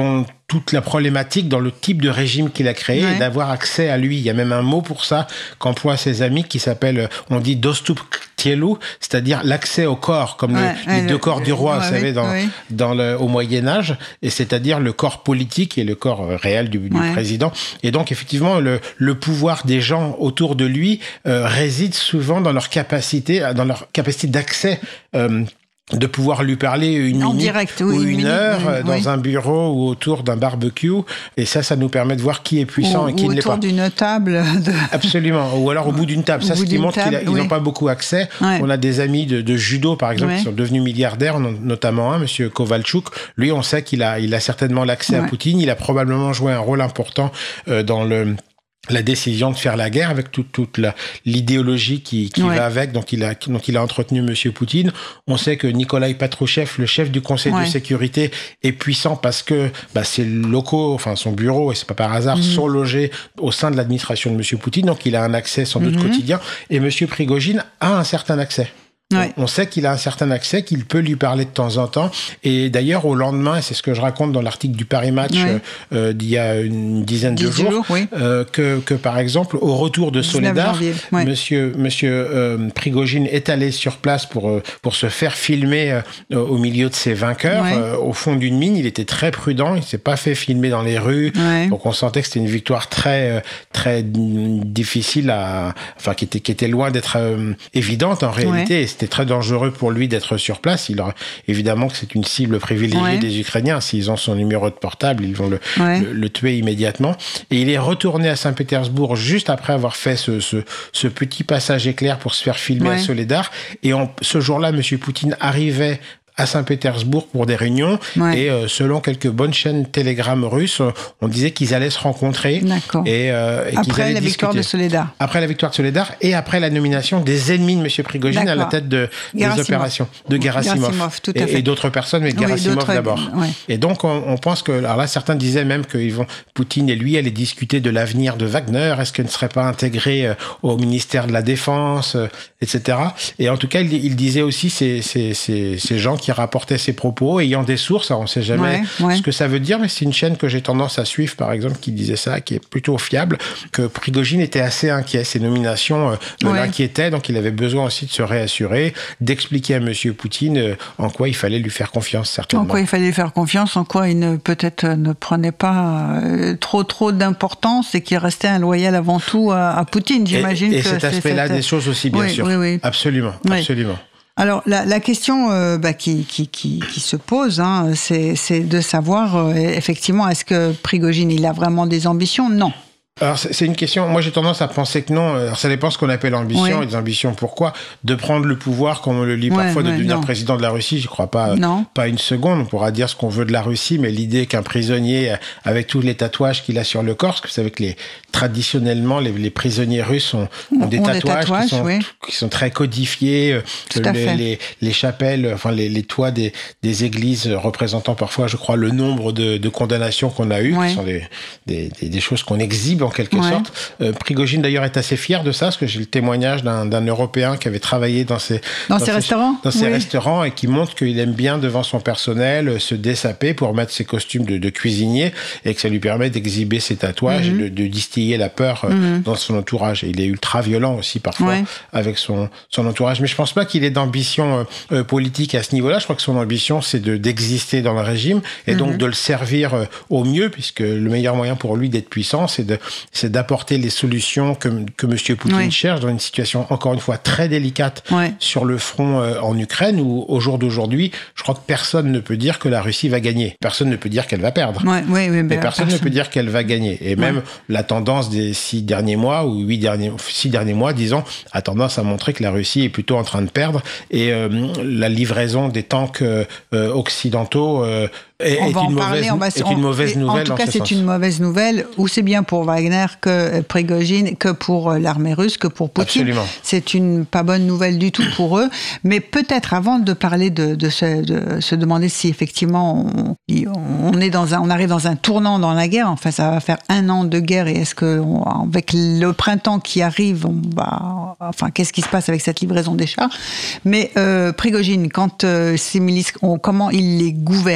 toute la problématique dans le type de régime qu'il a créé ouais. et d'avoir accès à lui. Il y a même un mot pour ça qu'emploient ses amis qui s'appelle, on dit dostup tielu, c'est-à-dire l'accès au corps, comme ouais, le, les le, deux corps du roi, ouais, vous savez, dans, ouais. dans le, au Moyen-Âge, et c'est-à-dire le corps politique et le corps réel du, du ouais. président. Et donc, effectivement, le, le pouvoir des gens autour de lui euh, réside souvent dans leur capacité, dans leur capacité d'accès euh, de pouvoir lui parler une en minute direct, oui, ou une, une heure minute, dans oui. un bureau ou autour d'un barbecue. Et ça, ça nous permet de voir qui est puissant ou, et qui ne l'est pas. Ou autour d'une table. De... Absolument. Ou alors au bout d'une table. Au ça, ce qui montre table, qu'ils oui. n'ont pas beaucoup accès. Ouais. On a des amis de, de judo, par exemple, ouais. qui sont devenus milliardaires, notamment un, M. Kovalchuk. Lui, on sait qu'il a, il a certainement l'accès ouais. à Poutine. Il a probablement joué un rôle important euh, dans le... la décision de faire la guerre avec toute, toute la, l'idéologie qui, qui ouais. va avec, donc il a, donc il a entretenu Monsieur Poutine. On sait que Nikolai Patrushev, le chef du Conseil ouais. de sécurité, est puissant parce que bah, ses locaux, enfin son bureau, et c'est pas par hasard, mm-hmm. sont logés au sein de l'administration de Monsieur Poutine, donc il a un accès sans doute mm-hmm. quotidien. Et Monsieur Prigojine a un certain accès. Ouais. On sait qu'il a un certain accès, qu'il peut lui parler de temps en temps. Et d'ailleurs, au lendemain, et c'est ce que je raconte dans l'article du Paris Match ouais. euh, d'il y a une dizaine de jours, jours oui. euh, que, que par exemple, au retour de Soledar, ouais. monsieur, monsieur euh, Prigojine est allé sur place pour, euh, pour se faire filmer euh, au milieu de ses vainqueurs, ouais. euh, au fond d'une mine. Il était très prudent, il ne s'est pas fait filmer dans les rues. Ouais. Donc on sentait que c'était une victoire très, très difficile à... Enfin, qui était, qui était loin d'être euh, évidente en réalité. Ouais. C'était très dangereux pour lui d'être sur place. Il aura, évidemment que c'est une cible privilégiée ouais. des Ukrainiens. S'ils ont son numéro de portable, ils vont le, ouais. le, le tuer immédiatement. Et il est retourné à Saint-Pétersbourg juste après avoir fait ce, ce, ce petit passage éclair pour se faire filmer ouais. à Soledar. Et en, ce jour-là, M. Poutine arrivait à Saint-Pétersbourg pour des réunions. Ouais. Et euh, selon quelques bonnes chaînes Telegram russes, on disait qu'ils allaient se rencontrer. D'accord. Et, euh, et après qu'ils allaient la victoire discuter. de Soledar. Après la victoire de Soledar et après la nomination des ennemis de M. Prigojine D'accord. à la tête de, des opérations de Gerasimov. Gerasimov tout à fait. Et, et d'autres personnes, mais Gerasimov oui, d'abord. Ouais. Et donc, on, on pense que... Alors là, certains disaient même que vont, Poutine et lui allaient discuter de l'avenir de Wagner. Est-ce qu'elle ne serait pas intégrée au ministère de la Défense, et cetera. Et en tout cas, il, il disait aussi ces, ces, ces, ces gens qui rapportaient ces propos, ayant des sources, on ne sait jamais ouais, ouais. ce que ça veut dire, mais c'est une chaîne que j'ai tendance à suivre, par exemple, qui disait ça, qui est plutôt fiable, que Prigojine était assez inquiet. Ses nominations euh, ouais. l'inquiétaient, donc il avait besoin aussi de se réassurer, d'expliquer à M. Poutine euh, en quoi il fallait lui faire confiance, certainement. En quoi il fallait lui faire confiance, en quoi il ne, peut-être ne prenait pas euh, trop trop d'importance et qu'il restait un loyal avant tout à, à Poutine, j'imagine. Et, et que cet aspect-là cette... des choses aussi, bien oui, sûr. Oui, oui. Absolument, oui. absolument. Alors, la, la question euh, bah, qui, qui, qui, qui se pose, hein, c'est, c'est de savoir, euh, effectivement, est-ce que Prigojine, il a vraiment des ambitions ? Non. Alors, c'est une question, moi j'ai tendance à penser que non. Alors, ça dépend ce qu'on appelle ambition, oui. et des ambitions pourquoi. De prendre le pouvoir, comme on le lit ouais, parfois, de ouais, devenir non. président de la Russie, je crois pas, non. pas une seconde. On pourra dire ce qu'on veut de la Russie, mais l'idée qu'un prisonnier, avec tous les tatouages qu'il a sur le corps, parce que vous savez que les, traditionnellement, les, les prisonniers russes ont, ont, des, ont tatouages des tatouages qui sont, oui. qui sont très codifiés. Tout le, à fait. Les, les chapelles, enfin les, les toits des, des églises représentant parfois, je crois, le nombre de, de condamnations qu'on a eues, ouais. qui sont des, des, des, des choses qu'on exhibe en quelque ouais. sorte. Euh, Prigojine d'ailleurs est assez fier de ça, parce que j'ai le témoignage d'un, d'un Européen qui avait travaillé dans ces, dans dans ces restaurants, dans ces oui. restaurants et qui montre qu'il aime bien devant son personnel se dessaper pour mettre ses costumes de, de cuisinier et que ça lui permet d'exhiber ses tatouages mm-hmm. et de, de distiller la peur mm-hmm. dans son entourage. Et il est ultra violent aussi parfois ouais. avec son, son entourage. Mais je pense pas qu'il ait d'ambition euh, politique à ce niveau-là. Je crois que son ambition c'est de, d'exister dans le régime et mm-hmm. donc de le servir euh, au mieux, puisque le meilleur moyen pour lui d'être puissant c'est de c'est d'apporter les solutions que, que M. Poutine oui. cherche dans une situation, encore une fois, très délicate ouais. sur le front euh, en Ukraine, où, au jour d'aujourd'hui, je crois que personne ne peut dire que la Russie va gagner. Personne ne peut dire qu'elle va perdre. Ouais, ouais, ouais, Mais personne, personne ne peut dire qu'elle va gagner. Et même ouais. la tendance des six derniers mois, ou huit derniers, six derniers mois, disons, a tendance à montrer que la Russie est plutôt en train de perdre. Et euh, la livraison des tanks euh, occidentaux euh, est, on est, va une, en mauvaise, parler, on va, est une mauvaise on, nouvelle. En tout cas, ce c'est sens. une mauvaise nouvelle, aussi bien pour Wagner que Prigojine, que pour l'armée russe, que pour Poutine. Absolument. C'est une pas bonne nouvelle du tout pour eux. Mais peut-être avant de parler de, de, se, de se demander si effectivement on, on est dans un, on arrive dans un tournant dans la guerre. Enfin, ça va faire un an de guerre, et est-ce que on, avec le printemps qui arrive, on va, enfin, qu'est-ce qui se passe avec cette livraison des chars ? Mais euh, Prigojine, quand euh, ces milices, on, comment il les gouverne ? Comment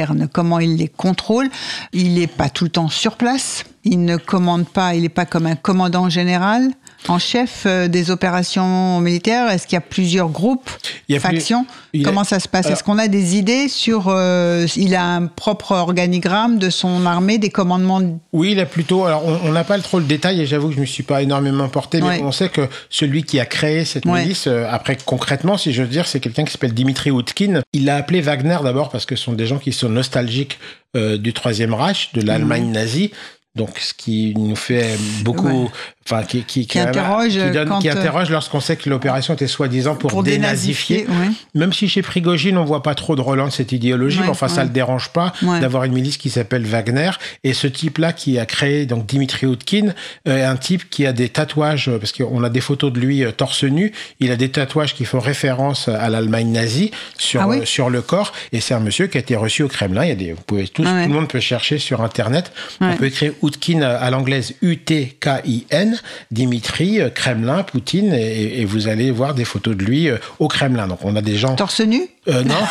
comment il les contrôle. Il n'est pas tout le temps sur place. Il ne commande pas, il n'est pas comme un commandant général en chef des opérations militaires. Est-ce qu'il y a plusieurs groupes, il y a factions plus... Comment a... ça se passe? Alors... Est-ce qu'on a des idées sur... Euh, il a un propre organigramme de son armée, des commandements? Oui, il a plutôt... Alors, on n'a pas trop le détail, et j'avoue que je ne me suis pas énormément porté, mais ouais. on sait que celui qui a créé cette ouais. milice, euh, après, concrètement, si je veux dire, c'est quelqu'un qui s'appelle Dimitri Outkin. Il l'a appelé Wagner d'abord parce que ce sont des gens qui sont nostalgiques euh, du Troisième Reich, de l'Allemagne mmh. nazie. Donc, ce qui nous fait beaucoup... Ouais. Enfin, qui, qui, qui, qui interroge, qui, donne, quand qui interroge lorsqu'on sait que l'opération était soi-disant pour, pour dénazifier. dénazifier ouais. Même si chez Prigojine, on ne voit pas trop de relance de cette idéologie, ouais, mais enfin, ouais. ça ne le dérange pas ouais. d'avoir une milice qui s'appelle Wagner. Et ce type-là qui a créé donc Dimitri Outkin, euh, un type qui a des tatouages, parce qu'on a des photos de lui euh, torse nu, il a des tatouages qui font référence à l'Allemagne nazie sur, ah oui euh, sur le corps. Et c'est un monsieur qui a été reçu au Kremlin. Il y a des, vous pouvez, tous, ah ouais. Tout le monde peut chercher sur Internet. Ouais. On peut écrire Outkin à l'anglaise U T K I N, Dimitri, Kremlin, Poutine, et, et vous allez voir des photos de lui au Kremlin. Donc on a des gens... Torse nu ? euh, Non,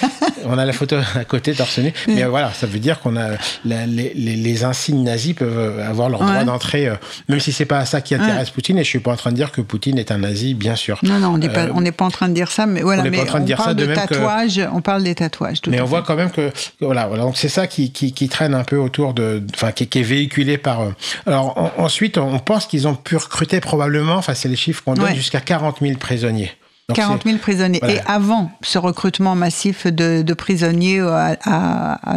on a la photo à côté torse nu. Mais euh, voilà, ça veut dire qu'on a la, les, les, les insignes nazis peuvent avoir leur ouais. droit d'entrée, euh, même si c'est pas ça qui intéresse ouais. Poutine. Et je suis pas en train de dire que Poutine est un nazi, bien sûr. Non, non, on n'est pas, euh, on n'est pas en train de dire ça. Mais voilà, on n'est pas en train de dire ça de, de même tatouage. Que... On parle des tatouages. Tout mais on voit quand même que voilà, voilà. Donc c'est ça qui, qui, qui traîne un peu autour de, enfin, qui, qui est véhiculé par. Euh... Alors en, ensuite, on pense qu'ils ont pu recruter probablement, enfin c'est les chiffres qu'on donne, ouais. jusqu'à quarante mille prisonniers. Donc quarante mille prisonniers. Voilà. Et avant ce recrutement massif de, de prisonniers à, à, à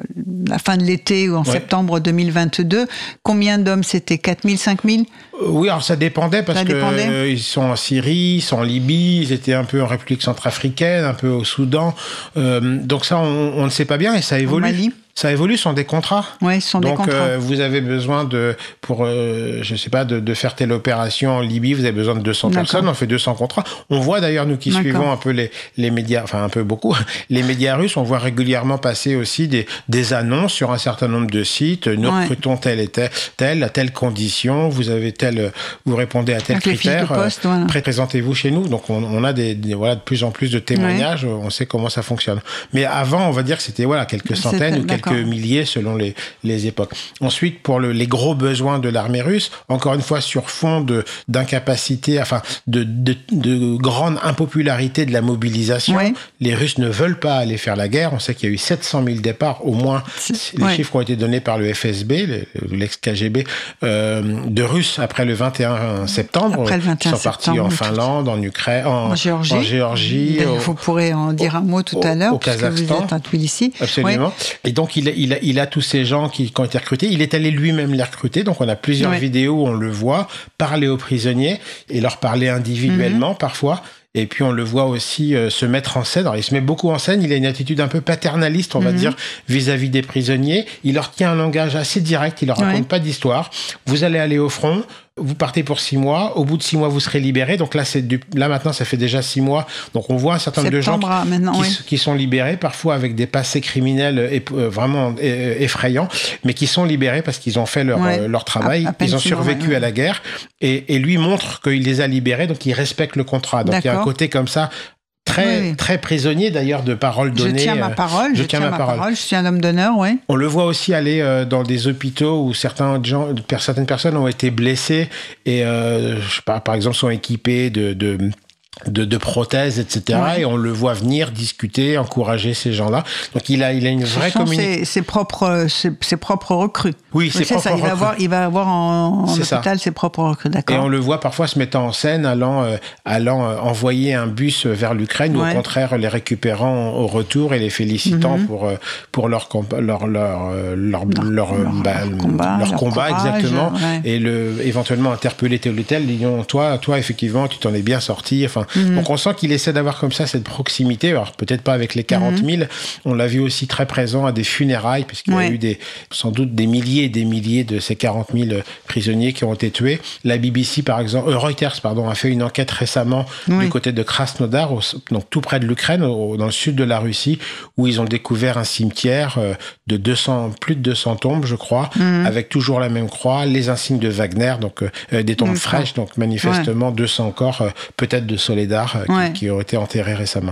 la fin de l'été ou en ouais. septembre deux mille vingt-deux, combien d'hommes c'était? quatre mille, cinq mille? Oui, alors ça dépendait parce qu'ils euh, sont en Syrie, ils sont en Libye, ils étaient un peu en République centrafricaine, un peu au Soudan. Euh, donc ça, on, on ne sait pas bien et ça évolue. Au Mali. Ça évolue, ce sont des contrats. Oui, ce sont Donc, des contrats. Euh, vous avez besoin de, pour, euh, je sais pas, de, de faire telle opération en Libye, vous avez besoin de deux cents D'accord. personnes, on fait deux cents contrats. On voit d'ailleurs, nous qui D'accord. suivons un peu les, les médias, enfin un peu beaucoup, les médias russes, on voit régulièrement passer aussi des, des annonces sur un certain nombre de sites. Nous ouais. recrutons tel et tel, tel, à telle condition, vous avez tel, vous répondez à tel Avec critère, poste, voilà. Présentez-vous chez nous. Donc, on, on a des, des, voilà, de plus en plus de témoignages, ouais. on sait comment ça fonctionne. Mais avant, on va dire que c'était, voilà, quelques centaines ou quelques quelques milliers selon les, les époques. Ensuite, pour le, les gros besoins de l'armée russe, encore une fois sur fond de, d'incapacité, enfin de, de, de grande impopularité de la mobilisation, ouais. les Russes ne veulent pas aller faire la guerre. On sait qu'il y a eu sept cent mille départs, au moins, les ouais. chiffres ont été donnés par le F S B, l'ex-K G B, euh, de Russes après le vingt et un septembre. Après le vingt et un ils sont partis en Finlande, en Ukraine, en, en Géorgie. En Géorgie au, vous pourrez en dire un mot tout au, à l'heure, au parce Kazakhstan. Que vous êtes à Tbilissi. Absolument. Ouais. Et donc, il a, il, a, il a tous ces gens qui, qui ont été recrutés. Il est allé lui-même les recruter. Donc, on a plusieurs ouais. vidéos où on le voit parler aux prisonniers et leur parler individuellement, mm-hmm. parfois. Et puis, on le voit aussi euh, se mettre en scène. Alors, il se met beaucoup en scène. Il a une attitude un peu paternaliste, on mm-hmm. va dire, vis-à-vis des prisonniers. Il leur tient un langage assez direct. Il leur raconte ouais. pas d'histoire. Vous allez aller au front. Vous partez pour six mois. Au bout de six mois, vous serez libérés. Donc là, c'est du... là maintenant, ça fait déjà six mois. Donc on voit un certain nombre de gens qui, qui, oui. qui sont libérés, parfois avec des passés criminels euh, vraiment euh, effrayants, mais qui sont libérés parce qu'ils ont fait leur, ouais. euh, leur travail. À, à ils ont survécu mois, à la guerre. Et, et lui montre qu'il les a libérés, donc il respecte le contrat. Donc D'accord. il y a un côté comme ça. Très, oui. très prisonnier d'ailleurs de paroles données. Je tiens ma parole, je, je tiens, tiens ma parole. parole, je suis un homme d'honneur, oui. On le voit aussi aller euh, dans des hôpitaux où certains gens, certaines personnes ont été blessées et, euh, je sais pas, par exemple, sont équipées de, de De, de prothèses, et cetera. Ouais. Et on le voit venir discuter, encourager ces gens-là. Donc il a, il a une vraie communication. Ses, ses propres, ses, ses propres recrues. Oui, ses propres ça, il recrues. Va avoir, il va avoir en, en hôpital ses propres recrues, d'accord. Et on le voit parfois se mettant en scène, allant, euh, allant euh, envoyer un bus vers l'Ukraine, ouais. ou au contraire les récupérant au retour et les félicitant mm-hmm. pour, euh, pour leur, leur, leur, leur, leur, leur, leur, bah, leur combat, leur combat courage, exactement. Ouais. Et le, éventuellement interpeller tel ou tel, disons, toi, toi, effectivement, tu t'en es bien sorti. Enfin, Mmh. Donc on sent qu'il essaie d'avoir comme ça cette proximité, alors peut-être pas avec les quarante mille, mmh. on l'a vu aussi très présent à des funérailles, puisqu'il ouais. y a eu des, sans doute des milliers et des milliers de ces quarante mille prisonniers qui ont été tués. La B B C, par exemple, euh, Reuters pardon, a fait une enquête récemment oui. du côté de Krasnodar, au, donc tout près de l'Ukraine, au, dans le sud de la Russie, où ils ont découvert un cimetière euh, de deux cents, plus de deux cents tombes, je crois, mmh. avec toujours la même croix, les insignes de Wagner, donc euh, des tombes D'accord. fraîches, donc manifestement ouais. deux cents corps, euh, peut-être de soldats Qui, ouais. qui ont été enterrés récemment.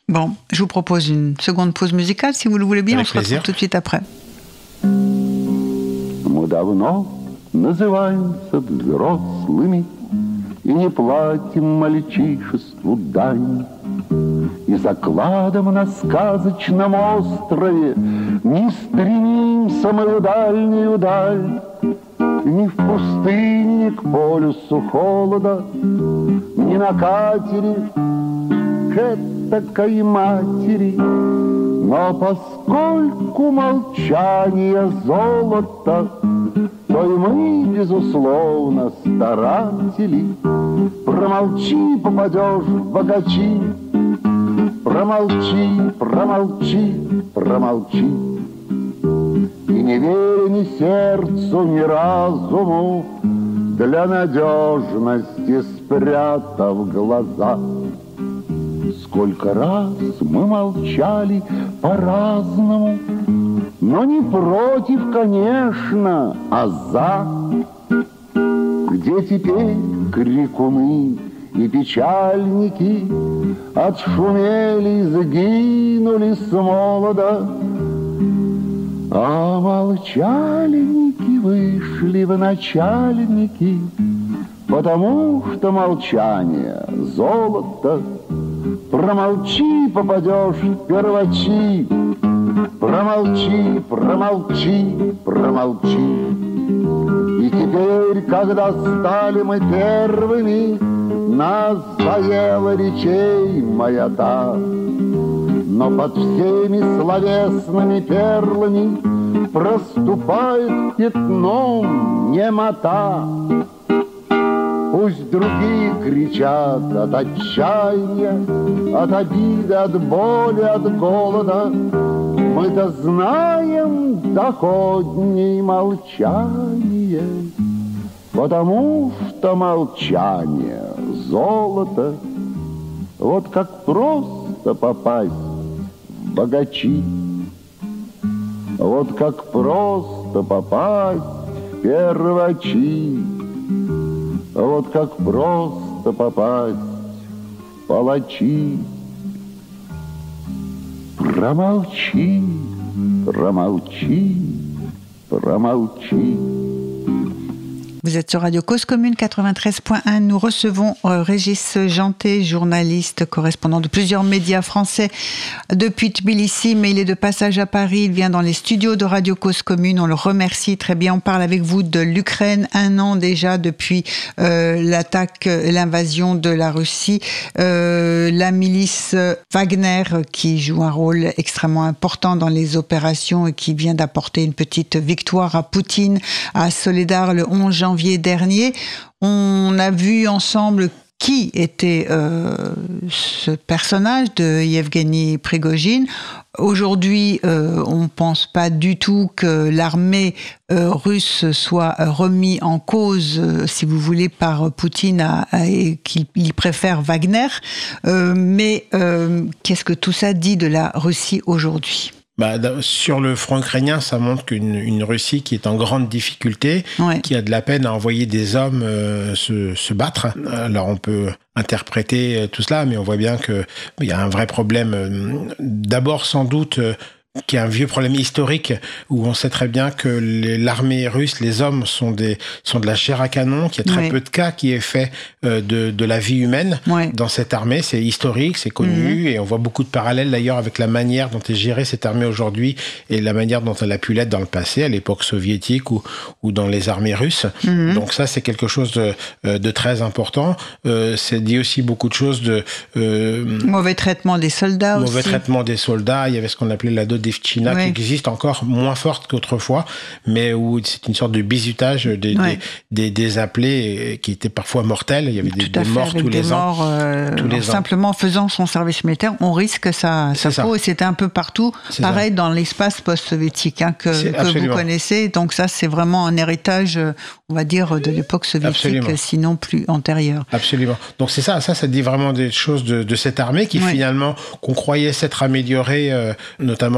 Bon, je vous propose une seconde pause musicale, si vous le voulez bien. Avec on se retrouve tout de suite après. Мы давно называемся взрослыми и не платим мальчишеству дань. И закладом на сказочном острове не стремимся мы в дальнюю даль. Ни в пустыне, ни к полюсу холода, ни на катере к этакой матери. Но поскольку молчание золото, то и мы, безусловно, старатели. Промолчи, попадешь в богачи, промолчи, промолчи, промолчи. И не веря ни сердцу, ни разуму, для надежности спрятав глаза. Сколько раз мы молчали по-разному, но не против, конечно, а за. Где теперь крикуны и печальники отшумели, сгинули с молода, а молчальники вышли в начальники, потому что молчание — золото. Промолчи, попадешь в первачи, промолчи, промолчи, промолчи. И теперь, когда стали мы первыми, нас заела речей маята. Но под всеми словесными перлами проступает пятном немота. Пусть другие кричат от отчаяния, от обиды, от боли, от голода. Мы-то знаем доходней молчание, потому что молчание — золото. Вот как просто попасть в богачи, вот как просто попасть в первачи. Вот как просто попасть в палачи. Промолчи, промолчи, промолчи. Vous êtes sur Radio Cause Commune quatre-vingt-treize point un. Nous recevons euh, Régis Janté, journaliste, correspondant de plusieurs médias français depuis Tbilissi, mais il est de passage à Paris. Il vient dans les studios de Radio Cause Commune. On le remercie très bien. On parle avec vous de l'Ukraine, un an déjà depuis euh, l'attaque, l'invasion de la Russie. Euh, la milice Wagner qui joue un rôle extrêmement important dans les opérations et qui vient d'apporter une petite victoire à Poutine, à Soledar le onze janvier dernier. On a vu ensemble qui était euh, ce personnage de Yevgeny Prigojine. Aujourd'hui, euh, on ne pense pas du tout que l'armée euh, russe soit remise en cause, euh, si vous voulez, par Poutine à, à, et qu'il il préfère Wagner. Euh, mais euh, qu'est-ce que tout ça dit de la Russie aujourd'hui ? Bah, sur le front ukrainien, ça montre qu'une une Russie qui est en grande difficulté, ouais. qui a de la peine à envoyer des hommes euh, se, se battre. Alors on peut interpréter tout cela, mais on voit bien qu'il y a un vrai problème. D'abord, sans doute, qui est un vieux problème historique où on sait très bien que les, l'armée russe, les hommes sont des sont de la chair à canon, qu'il y a très oui. peu de cas qui est fait euh, de de la vie humaine oui. dans cette armée. C'est historique, c'est connu, mmh. et on voit beaucoup de parallèles d'ailleurs avec la manière dont est gérée cette armée aujourd'hui et la manière dont elle a pu l'être dans le passé, à l'époque soviétique ou ou dans les armées russes. Mmh. Donc ça, c'est quelque chose de de très important. Euh, c'est dit aussi beaucoup de choses de euh, mauvais traitement des soldats mauvais aussi. Mauvais traitement des soldats. Il y avait ce qu'on appelait la dot China oui. qui existe encore moins forte qu'autrefois, mais où c'est une sorte de bizutage des, oui. des, des, des appelés qui étaient parfois mortels. Il y avait des, des fait, morts tous des les morts, ans. Euh, tous les simplement ans. en faisant son service militaire, on risque sa, sa peau. Et c'était un peu partout, c'est pareil ça. Dans l'espace post-soviétique hein, que, que vous connaissez. Donc ça, c'est vraiment un héritage, on va dire, de l'époque soviétique, absolument. Sinon plus antérieure. Absolument. Donc c'est ça, ça, ça dit vraiment des choses de, de cette armée qui oui. finalement, qu'on croyait s'être améliorée, euh, notamment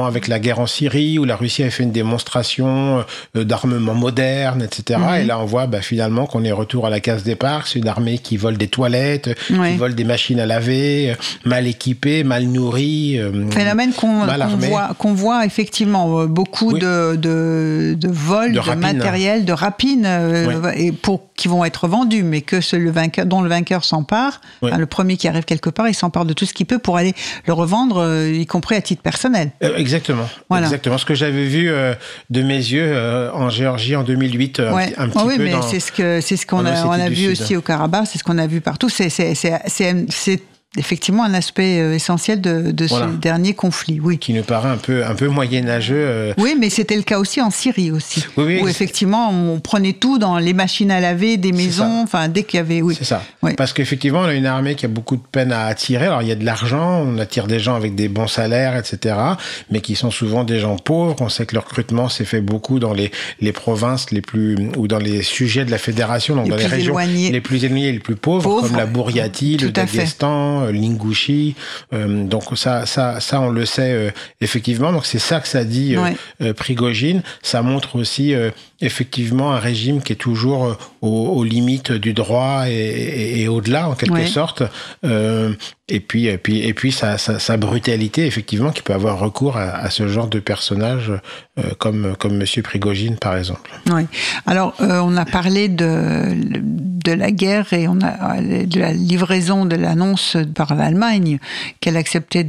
avec la guerre en Syrie, où la Russie a fait une démonstration euh, d'armement moderne, et cetera. Mm-hmm. Et là, on voit bah, finalement qu'on est retour à la case départ. C'est une armée qui vole des toilettes, oui. qui vole des machines à laver, mal équipée, mal nourrie. Euh, Phénomène qu'on, qu'on, voit, qu'on voit effectivement beaucoup oui. de, de, de vols, de, de matériel, de rapines, euh, oui. et pour, qui vont être vendus, mais que ce, le vainqueur, dont le vainqueur s'empare, oui. hein, le premier qui arrive quelque part, il s'empare de tout ce qu'il peut pour aller le revendre, euh, y compris à titre personnel. Euh, exactement. Voilà. Exactement. Ce que j'avais vu euh, de mes yeux euh, en Géorgie en deux mille huit, euh, ouais. un, un petit oh, oui, peu mais dans, c'est ce que c'est ce qu'on a, on a vu Sud. Aussi au Karabakh, c'est ce qu'on a vu partout. C'est c'est c'est c'est, c'est effectivement un aspect essentiel de, de voilà. ce dernier conflit, oui. Qui nous paraît un peu, un peu moyenâgeux. Euh... Oui, mais c'était le cas aussi en Syrie aussi. Oui, oui, où c'est... effectivement, on prenait tout dans les machines à laver, des maisons, enfin, dès qu'il y avait, oui. C'est ça. Oui. Parce qu'effectivement, on a une armée qui a beaucoup de peine à attirer. Alors, il y a de l'argent, on attire des gens avec des bons salaires, et cetera, mais qui sont souvent des gens pauvres. On sait que le recrutement s'est fait beaucoup dans les, les provinces les plus, ou dans les sujets de la fédération, donc les dans les régions éloignés. les plus éloignées, les plus pauvres, pauvres. Comme la Bouriatie, le Daghestan, l'Ingouchie. Euh, donc ça, ça, ça, on le sait euh, effectivement. Donc c'est ça que ça dit euh, ouais. euh, Prigojine. Ça montre aussi euh, effectivement un régime qui est toujours euh, aux, aux limites du droit et, et, et au-delà en quelque ouais. sorte. Euh, et puis, et puis, et puis sa, sa, sa brutalité effectivement qui peut avoir recours à, à ce genre de personnage euh, comme comme Monsieur Prigojine par exemple. Oui. Alors euh, on a parlé de de la guerre et on a de la livraison de l'annonce par l'Allemagne qu'elle acceptait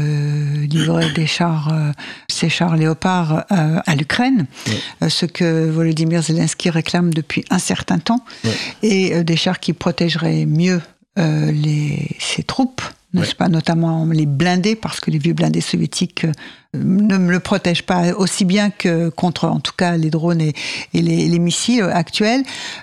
de livrer des chars, euh, ces chars Léopard euh, à l'Ukraine, oui. euh, ce que Volodymyr Zelensky réclame depuis un certain temps, oui. et euh, des chars qui protégeraient mieux euh, les, ses troupes, n'est-ce oui. pas, notamment les blindés, parce que les vieux blindés soviétiques euh, ne le protègent pas aussi bien que contre, en tout cas, les drones et, et les, les missiles actuels.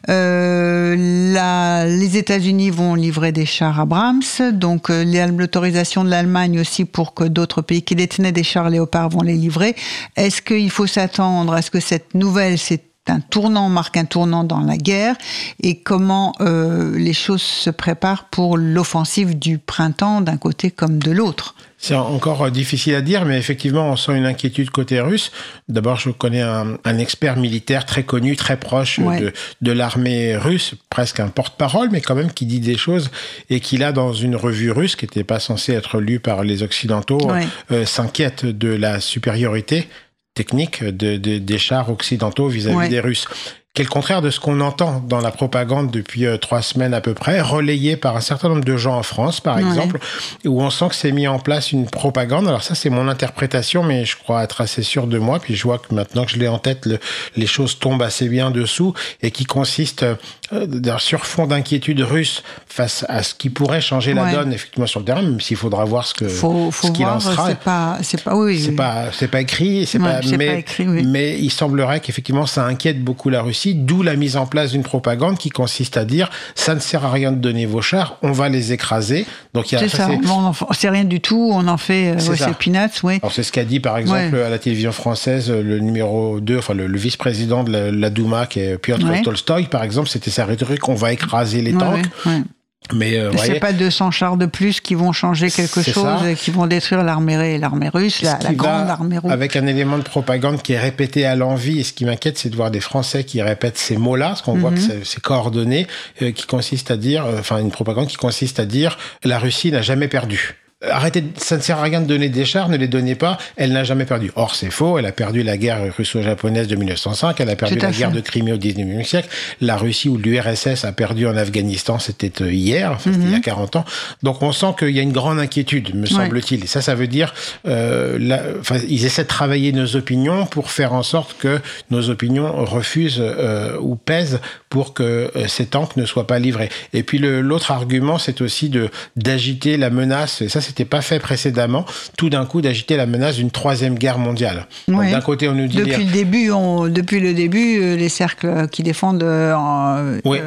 Euh, la, les États-Unis vont livrer des chars Abrams, donc euh, l'autorisation de l'Allemagne aussi pour que d'autres pays qui détenaient des chars Léopard vont les livrer. Est-ce qu'il faut s'attendre à ce que cette nouvelle, c'est un tournant, marque un tournant dans la guerre, et comment euh, les choses se préparent pour l'offensive du printemps d'un côté comme de l'autre? C'est encore difficile à dire, mais effectivement, on sent une inquiétude côté russe. D'abord, je connais un, un expert militaire très connu, très proche ouais. de, de l'armée russe, presque un porte-parole, mais quand même qui dit des choses, et qui là, dans une revue russe, qui n'était pas censée être lue par les Occidentaux, ouais. euh, s'inquiète de la supériorité technique de, de, des chars occidentaux vis-à-vis ouais. des Russes. Qui est le contraire de ce qu'on entend dans la propagande depuis euh, trois semaines à peu près, relayé par un certain nombre de gens en France, par ouais. exemple, où on sent que c'est mis en place une propagande. Alors ça, c'est mon interprétation, mais je crois être assez sûr de moi. Puis je vois que maintenant que je l'ai en tête, le, les choses tombent assez bien dessous, et qui consiste euh, d'un surfond d'inquiétude russe face à ce qui pourrait changer la ouais. donne, effectivement, sur le terrain, même s'il faudra voir ce que faut, faut ce qu'il voir, en sera. C'est pas, c'est pas, oui, c'est oui. pas, c'est pas écrit, c'est ouais, pas, c'est mais, pas écrit, oui. mais il semblerait qu'effectivement ça inquiète beaucoup la Russie. D'où la mise en place d'une propagande qui consiste à dire ça ne sert à rien de donner vos chars, on va les écraser. Donc il y a c'est ça, ça c'est... on en fait rien du tout, on en fait c'est, ouais, c'est peanuts, oui. Alors c'est ce qu'a dit par exemple ouais. à la télévision française le numéro deux, enfin le, le vice-président de la, la Douma qui est Piotr ouais. Tolstoï par exemple, c'était sa rhétorique, on va écraser les ouais, tanks. Ouais, ouais. Mais euh, c'est voyez, pas deux cents chars de plus qui vont changer quelque chose ça. Et qui vont détruire l'armée, l'armée russe, la, la grande armée russe. Avec un élément de propagande qui est répété à l'envi, et ce qui m'inquiète, c'est de voir des Français qui répètent ces mots-là, parce qu'on mm-hmm. voit que c'est, c'est coordonné, euh, qui consiste à dire, euh, enfin une propagande qui consiste à dire la Russie n'a jamais perdu. Arrêtez, ça ne sert à rien de donner des chars, ne les donnez pas, elle n'a jamais perdu. Or, c'est faux, elle a perdu la guerre russo-japonaise de mille neuf cent cinq, elle a perdu la fait. guerre de Crimée au dix-neuvième siècle, la Russie ou l'U R S S a perdu en Afghanistan, c'était hier, enfin, mm-hmm. c'était il y a quarante ans. Donc, on sent qu'il y a une grande inquiétude, me semble-t-il. Ouais. Et ça, ça veut dire, euh, la, enfin, ils essaient de travailler nos opinions pour faire en sorte que nos opinions refusent euh, ou pèsent pour que euh, ces tanks ne soient pas livrés. Et puis, le, l'autre argument, c'est aussi de, d'agiter la menace, et ça, c'est n'était pas fait précédemment, tout d'un coup d'agiter la menace d'une troisième guerre mondiale. Oui. Donc, d'un côté, on nous dit... Depuis, les... le, début, on, depuis le début, les cercles qui défendent... Euh, oui. euh,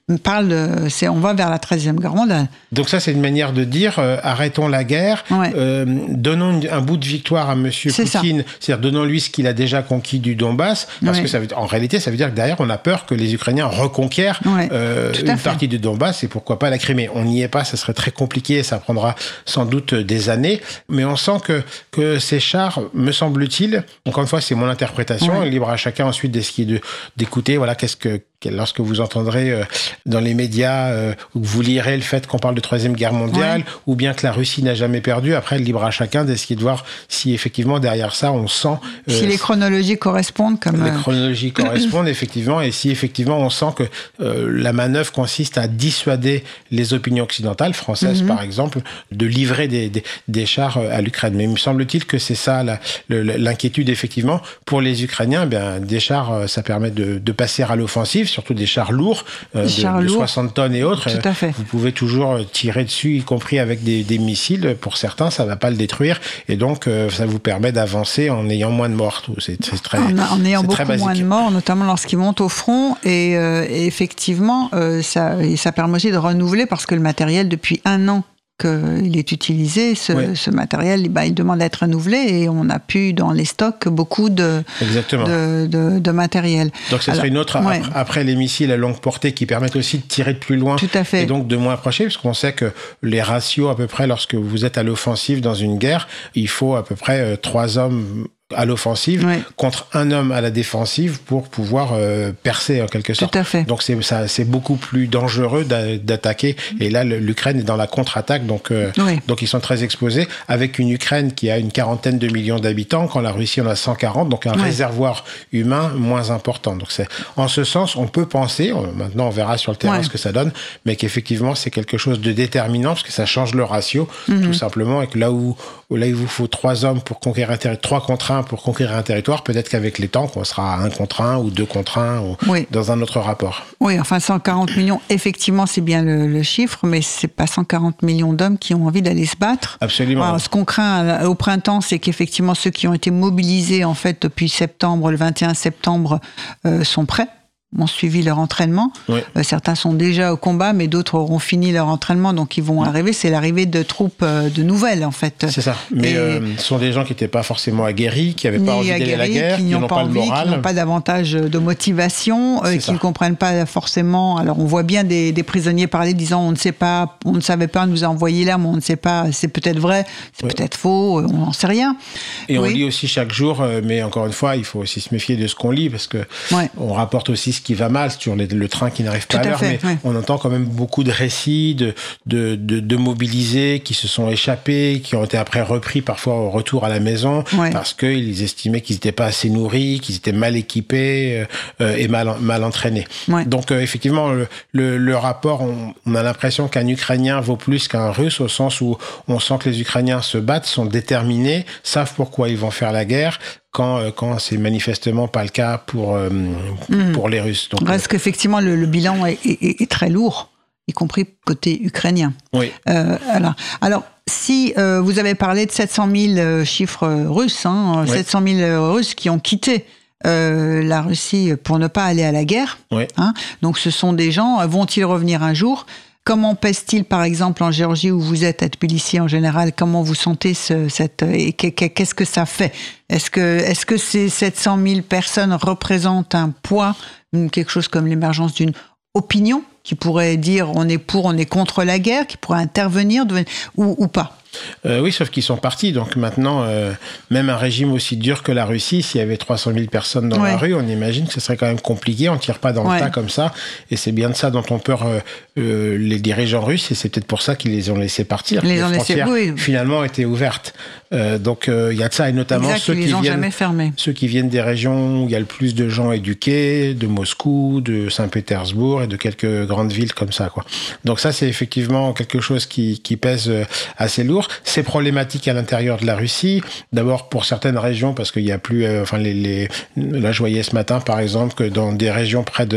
parle de, c'est, on va vers la treizième guerre mondiale. Donc ça, c'est une manière de dire euh, arrêtons la guerre, ouais. euh, donnons une, un bout de victoire à Monsieur c'est Poutine, ça. C'est-à-dire donnons-lui ce qu'il a déjà conquis du Donbass, parce ouais. que ça veut, en réalité, ça veut dire que derrière, on a peur que les Ukrainiens reconquièrent ouais. euh, une fait. partie du Donbass et pourquoi pas la Crimée. On n'y est pas, ça serait très compliqué, ça prendra sans doute des années, mais on sent que, que ces chars, me semble-t-il, encore une fois, c'est mon interprétation, ouais. libre à chacun ensuite d'essayer de, d'écouter, voilà, qu'est-ce que lorsque vous entendrez euh, dans les médias euh, ou que vous lirez le fait qu'on parle de troisième guerre mondiale ouais. ou bien que la Russie n'a jamais perdu, après libre à chacun d'essayer de voir si effectivement derrière ça on sent... Euh, si les chronologies correspondent comme... Les chronologies correspondent effectivement et si effectivement on sent que euh, la manœuvre consiste à dissuader les opinions occidentales, françaises mm-hmm. par exemple, de livrer des, des, des chars à l'Ukraine. Mais il me semble-t-il que c'est ça la, le, l'inquiétude effectivement. Pour les Ukrainiens, bien, des chars ça permet de, de passer à l'offensive, surtout des chars lourds, euh, de, chars de lourds. soixante tonnes et autres. Tout à fait. Vous pouvez toujours tirer dessus, y compris avec des, des missiles. Pour certains, ça ne va pas le détruire. Et donc, euh, ça vous permet d'avancer en ayant moins de morts. C'est, c'est très, en, en ayant c'est beaucoup très basique. moins de morts, notamment lorsqu'ils montent au front. Et, euh, et effectivement, euh, ça, et ça permet aussi de renouveler parce que le matériel, depuis un an, qu'il est utilisé, ce, oui. ce matériel, bah, il demande à être renouvelé et on a pu dans les stocks beaucoup de, de, de, de matériel. Donc ce serait une autre, ouais. après, après les missiles à longue portée qui permettent aussi de tirer de plus loin Tout à fait. Et donc de moins approcher, parce qu'on sait que les ratios à peu près lorsque vous êtes à l'offensive dans une guerre, il faut à peu près euh, trois hommes à l'offensive ouais. contre un homme à la défensive pour pouvoir euh, percer en quelque sorte. Tout à fait. Donc c'est ça, c'est beaucoup plus dangereux d'a, d'attaquer. Et là, le, l'Ukraine est dans la contre-attaque, donc euh, oui. donc ils sont très exposés. Avec une Ukraine qui a une quarantaine de millions d'habitants, quand la Russie en a cent quarante, donc un oui. réservoir humain moins important. Donc c'est en ce sens, on peut penser. Maintenant, on verra sur le terrain ouais. ce que ça donne, mais qu'effectivement c'est quelque chose de déterminant parce que ça change le ratio, mm-hmm. tout simplement, et que là où là il vous faut trois hommes pour conquérir un territoire, trois contre un pour conquérir un territoire, peut-être qu'avec les tanks, on sera à un contre un ou deux contre un ou oui. dans un autre rapport. Oui, enfin cent quarante millions, effectivement, c'est bien le, le chiffre, mais c'est pas cent quarante millions d'hommes qui ont envie d'aller se battre. Absolument. Alors, ce qu'on craint au printemps, c'est qu'effectivement, ceux qui ont été mobilisés, en fait, depuis septembre, le vingt et un septembre, euh, sont prêts. Ont suivi leur entraînement. Oui. Euh, certains sont déjà au combat, mais d'autres auront fini leur entraînement, donc ils vont oui. arriver. C'est l'arrivée de troupes euh, de nouvelles, en fait. C'est ça. Mais et euh, ce sont des gens qui n'étaient pas forcément aguerris, qui n'avaient pas envie d'aller à la guerre, qui, qui n'ont pas, pas envie, le moral. Qui n'ont pas davantage de motivation, euh, qui ne comprennent pas forcément. Alors, on voit bien des, des prisonniers parler, disant on ne sait pas, on ne savait pas, on nous a envoyé là, mais on ne sait pas. C'est peut-être vrai, c'est oui. peut-être faux, on n'en sait rien. Et oui. on lit aussi chaque jour, mais encore une fois, il faut aussi se méfier de ce qu'on lit, parce que ouais. on rapporte aussi ce qui va mal sur les, le train qui n'arrive pas à l'heure, fait, mais ouais. on entend quand même beaucoup de récits de, de, de, de mobilisés qui se sont échappés, qui ont été après repris parfois au retour à la maison, ouais. parce qu'ils estimaient qu'ils n'étaient pas assez nourris, qu'ils étaient mal équipés euh, et mal, mal entraînés. Ouais. Donc euh, effectivement, le, le, le rapport, on, on a l'impression qu'un Ukrainien vaut plus qu'un Russe, au sens où on sent que les Ukrainiens se battent, sont déterminés, savent pourquoi ils vont faire la guerre, quand, quand c'est manifestement pas le cas pour, euh, mmh. pour les Russes. Donc, Reste euh... qu'effectivement, le, le bilan est, est, est très lourd, y compris côté ukrainien. Oui. Euh, alors, alors, si euh, vous avez parlé de sept cent mille euh, chiffres russes, hein, oui. sept cent mille Russes qui ont quitté euh, la Russie pour ne pas aller à la guerre, oui. hein, donc ce sont des gens, vont-ils revenir un jour ? Comment pèse-t-il, par exemple, en Géorgie, où vous êtes, à Tbilissi en général, comment vous sentez ce, cette, et qu'est-ce que ça fait ? Est-ce que, est-ce que ces sept cent mille personnes représentent un poids, quelque chose comme l'émergence d'une opinion, qui pourrait dire on est pour, on est contre la guerre, qui pourrait intervenir, ou, ou pas ? Euh, oui, sauf qu'ils sont partis. Donc maintenant, euh, même un régime aussi dur que la Russie, s'il y avait trois cent mille personnes dans ouais. la rue, on imagine que ce serait quand même compliqué. On ne tire pas dans ouais. le tas comme ça. Et c'est bien de ça dont ont peur euh, euh, les dirigeants russes. Et c'est peut-être pour ça qu'ils les ont laissés partir. Les, les ont frontières, laissé, oui. finalement, étaient ouvertes. Euh, donc il euh, y a de ça. Et notamment exact, ceux, ils qui les ont viennent, jamais fermés. ceux qui viennent des régions où il y a le plus de gens éduqués, de Moscou, de Saint-Pétersbourg et de quelques grandes villes comme ça, quoi. Donc ça, c'est effectivement quelque chose qui, qui pèse assez lourd. C'est problématique à l'intérieur de la Russie. D'abord pour certaines régions, parce qu'il y a plus, euh, enfin les, les, là je voyais ce matin par exemple que dans des régions près de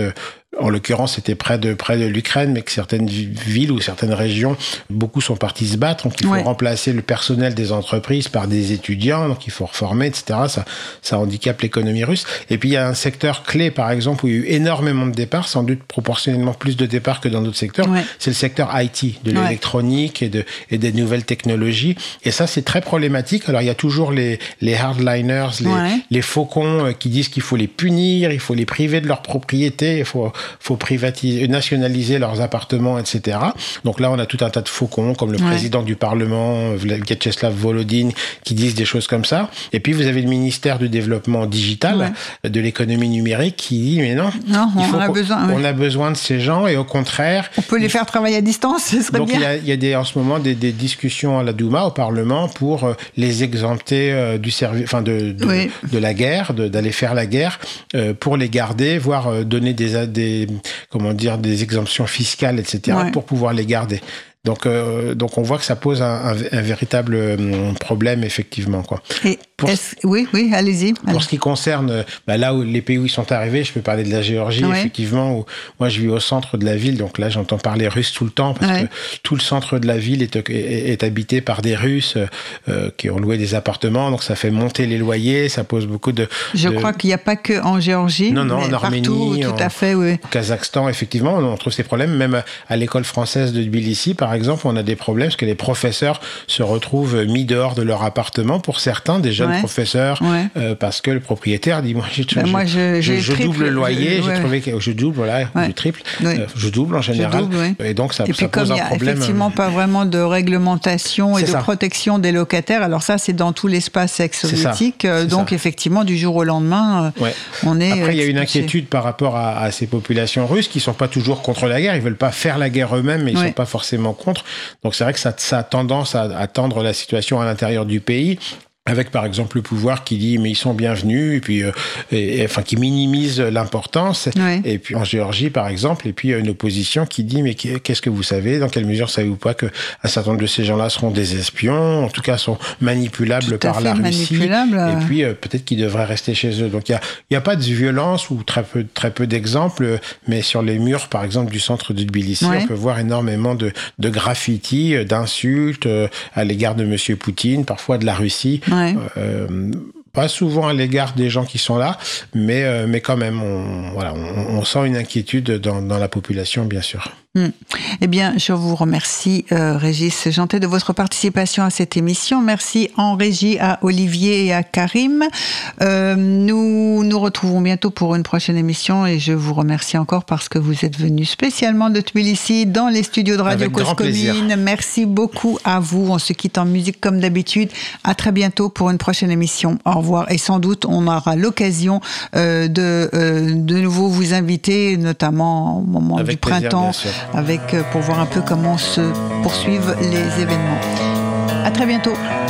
en l'occurrence, c'était près de, près de l'Ukraine, mais que certaines villes ou certaines régions, beaucoup sont partis se battre. Donc, il faut ouais. remplacer le personnel des entreprises par des étudiants. Donc, il faut reformer, et cetera. Ça, ça handicape l'économie russe. Et puis, il y a un secteur clé, par exemple, où il y a eu énormément de départs, sans doute proportionnellement plus de départs que dans d'autres secteurs. Ouais. C'est le secteur I T, de l'électronique ouais. et, de, et des nouvelles technologies. Et ça, c'est très problématique. Alors, il y a toujours les, les hardliners, les, ouais. les faucons qui disent qu'il faut les punir, il faut les priver de leur propriété, il faut faut privatiser, nationaliser leurs appartements, et cetera. Donc là, on a tout un tas de faucons, comme le ouais. président du Parlement, Vyacheslav Volodine, qui disent des choses comme ça. Et puis, vous avez le ministère du Développement Digital, ouais. de l'économie numérique, qui dit, mais non, non il faut on, a besoin, on ouais. a besoin de ces gens, et au contraire... On peut les faire travailler à distance, ce serait donc bien. Donc, il y a, il y a des, en ce moment des, des discussions à la Douma, au Parlement, pour les exempter euh, du service, enfin de, de, oui. de la guerre, de, d'aller faire la guerre, euh, pour les garder, voire euh, donner des... des comment dire, des exemptions fiscales, et cetera, ouais. pour pouvoir les garder. Donc, euh, donc on voit que ça pose un, un, un véritable euh, problème, effectivement, quoi. Et pour, oui, oui, allez-y. Pour allez. ce qui concerne bah, là où les pays où ils sont arrivés, je peux parler de la Géorgie, ouais. effectivement, où moi je vis au centre de la ville, donc là j'entends parler russe tout le temps, parce ouais. que tout le centre de la ville est, est, est habité par des Russes euh, qui ont loué des appartements, donc ça fait monter les loyers, ça pose beaucoup de... Je de... crois qu'il n'y a pas que en Géorgie, non, non, mais en Arménie, partout, tout à fait, oui. Au Kazakhstan, effectivement, on trouve ces problèmes, même à l'école française de Tbilissi, par exemple, on a des problèmes parce que les professeurs se retrouvent mis dehors de leur appartement, pour certains, des jeunes ouais. professeurs, ouais. Euh, parce que le propriétaire dit, moi, j'ai, ben je, moi je, je, je double le loyer, je, j'ai ouais. trouvé que je double, voilà, ouais. je triple, ouais. euh, je double en général, double, ouais. et donc ça, et ça puis pose comme un problème. Il n'y a effectivement pas vraiment de réglementation et de ça. protection des locataires, alors ça c'est dans tout l'espace ex-soviétique, donc ça. effectivement du jour au lendemain, ouais. on est... Après il y a une inquiétude par rapport à, à ces populations russes qui ne sont pas toujours contre la guerre, ils ne veulent pas faire la guerre eux-mêmes, mais ils ne ouais. sont pas forcément contre, donc c'est vrai que ça, ça a tendance à, à tendre la situation à l'intérieur du pays, avec par exemple le pouvoir qui dit mais ils sont bienvenus, et puis euh, et, et, enfin qui minimise l'importance, ouais. et puis en Géorgie par exemple, et puis une opposition qui dit mais qu'est-ce que vous savez, dans quelle mesure savez-vous pas que un certain nombre de ces gens-là seront des espions, en tout cas sont manipulables par la Russie, et puis euh, peut-être qu'ils devraient rester chez eux. Donc il y a il y a pas de violence ou très peu très peu d'exemples, mais sur les murs par exemple du centre de Tbilissi, ouais. on peut voir énormément de de graffitis, d'insultes euh, à l'égard de Monsieur Poutine, parfois de la Russie. Ouais. Ouais. Euh, pas souvent à l'égard des gens qui sont là, mais, euh, mais quand même, on, voilà, on, on sent une inquiétude dans, dans la population, bien sûr. Mmh. Eh bien, je vous remercie, euh, Régis Jantet, de votre participation à cette émission. Merci en régie à Olivier et à Karim. Euh, nous nous retrouvons bientôt pour une prochaine émission, et je vous remercie encore parce que vous êtes venu spécialement de Tbilissi dans les studios de Radio Cause Commune. Merci beaucoup à vous. On se quitte en musique comme d'habitude. À très bientôt pour une prochaine émission. Au revoir. Et sans doute, on aura l'occasion euh, de euh, de nouveau vous inviter, notamment au moment Avec du printemps. Plaisir, avec, pour voir un peu comment se poursuivent les événements. À très bientôt.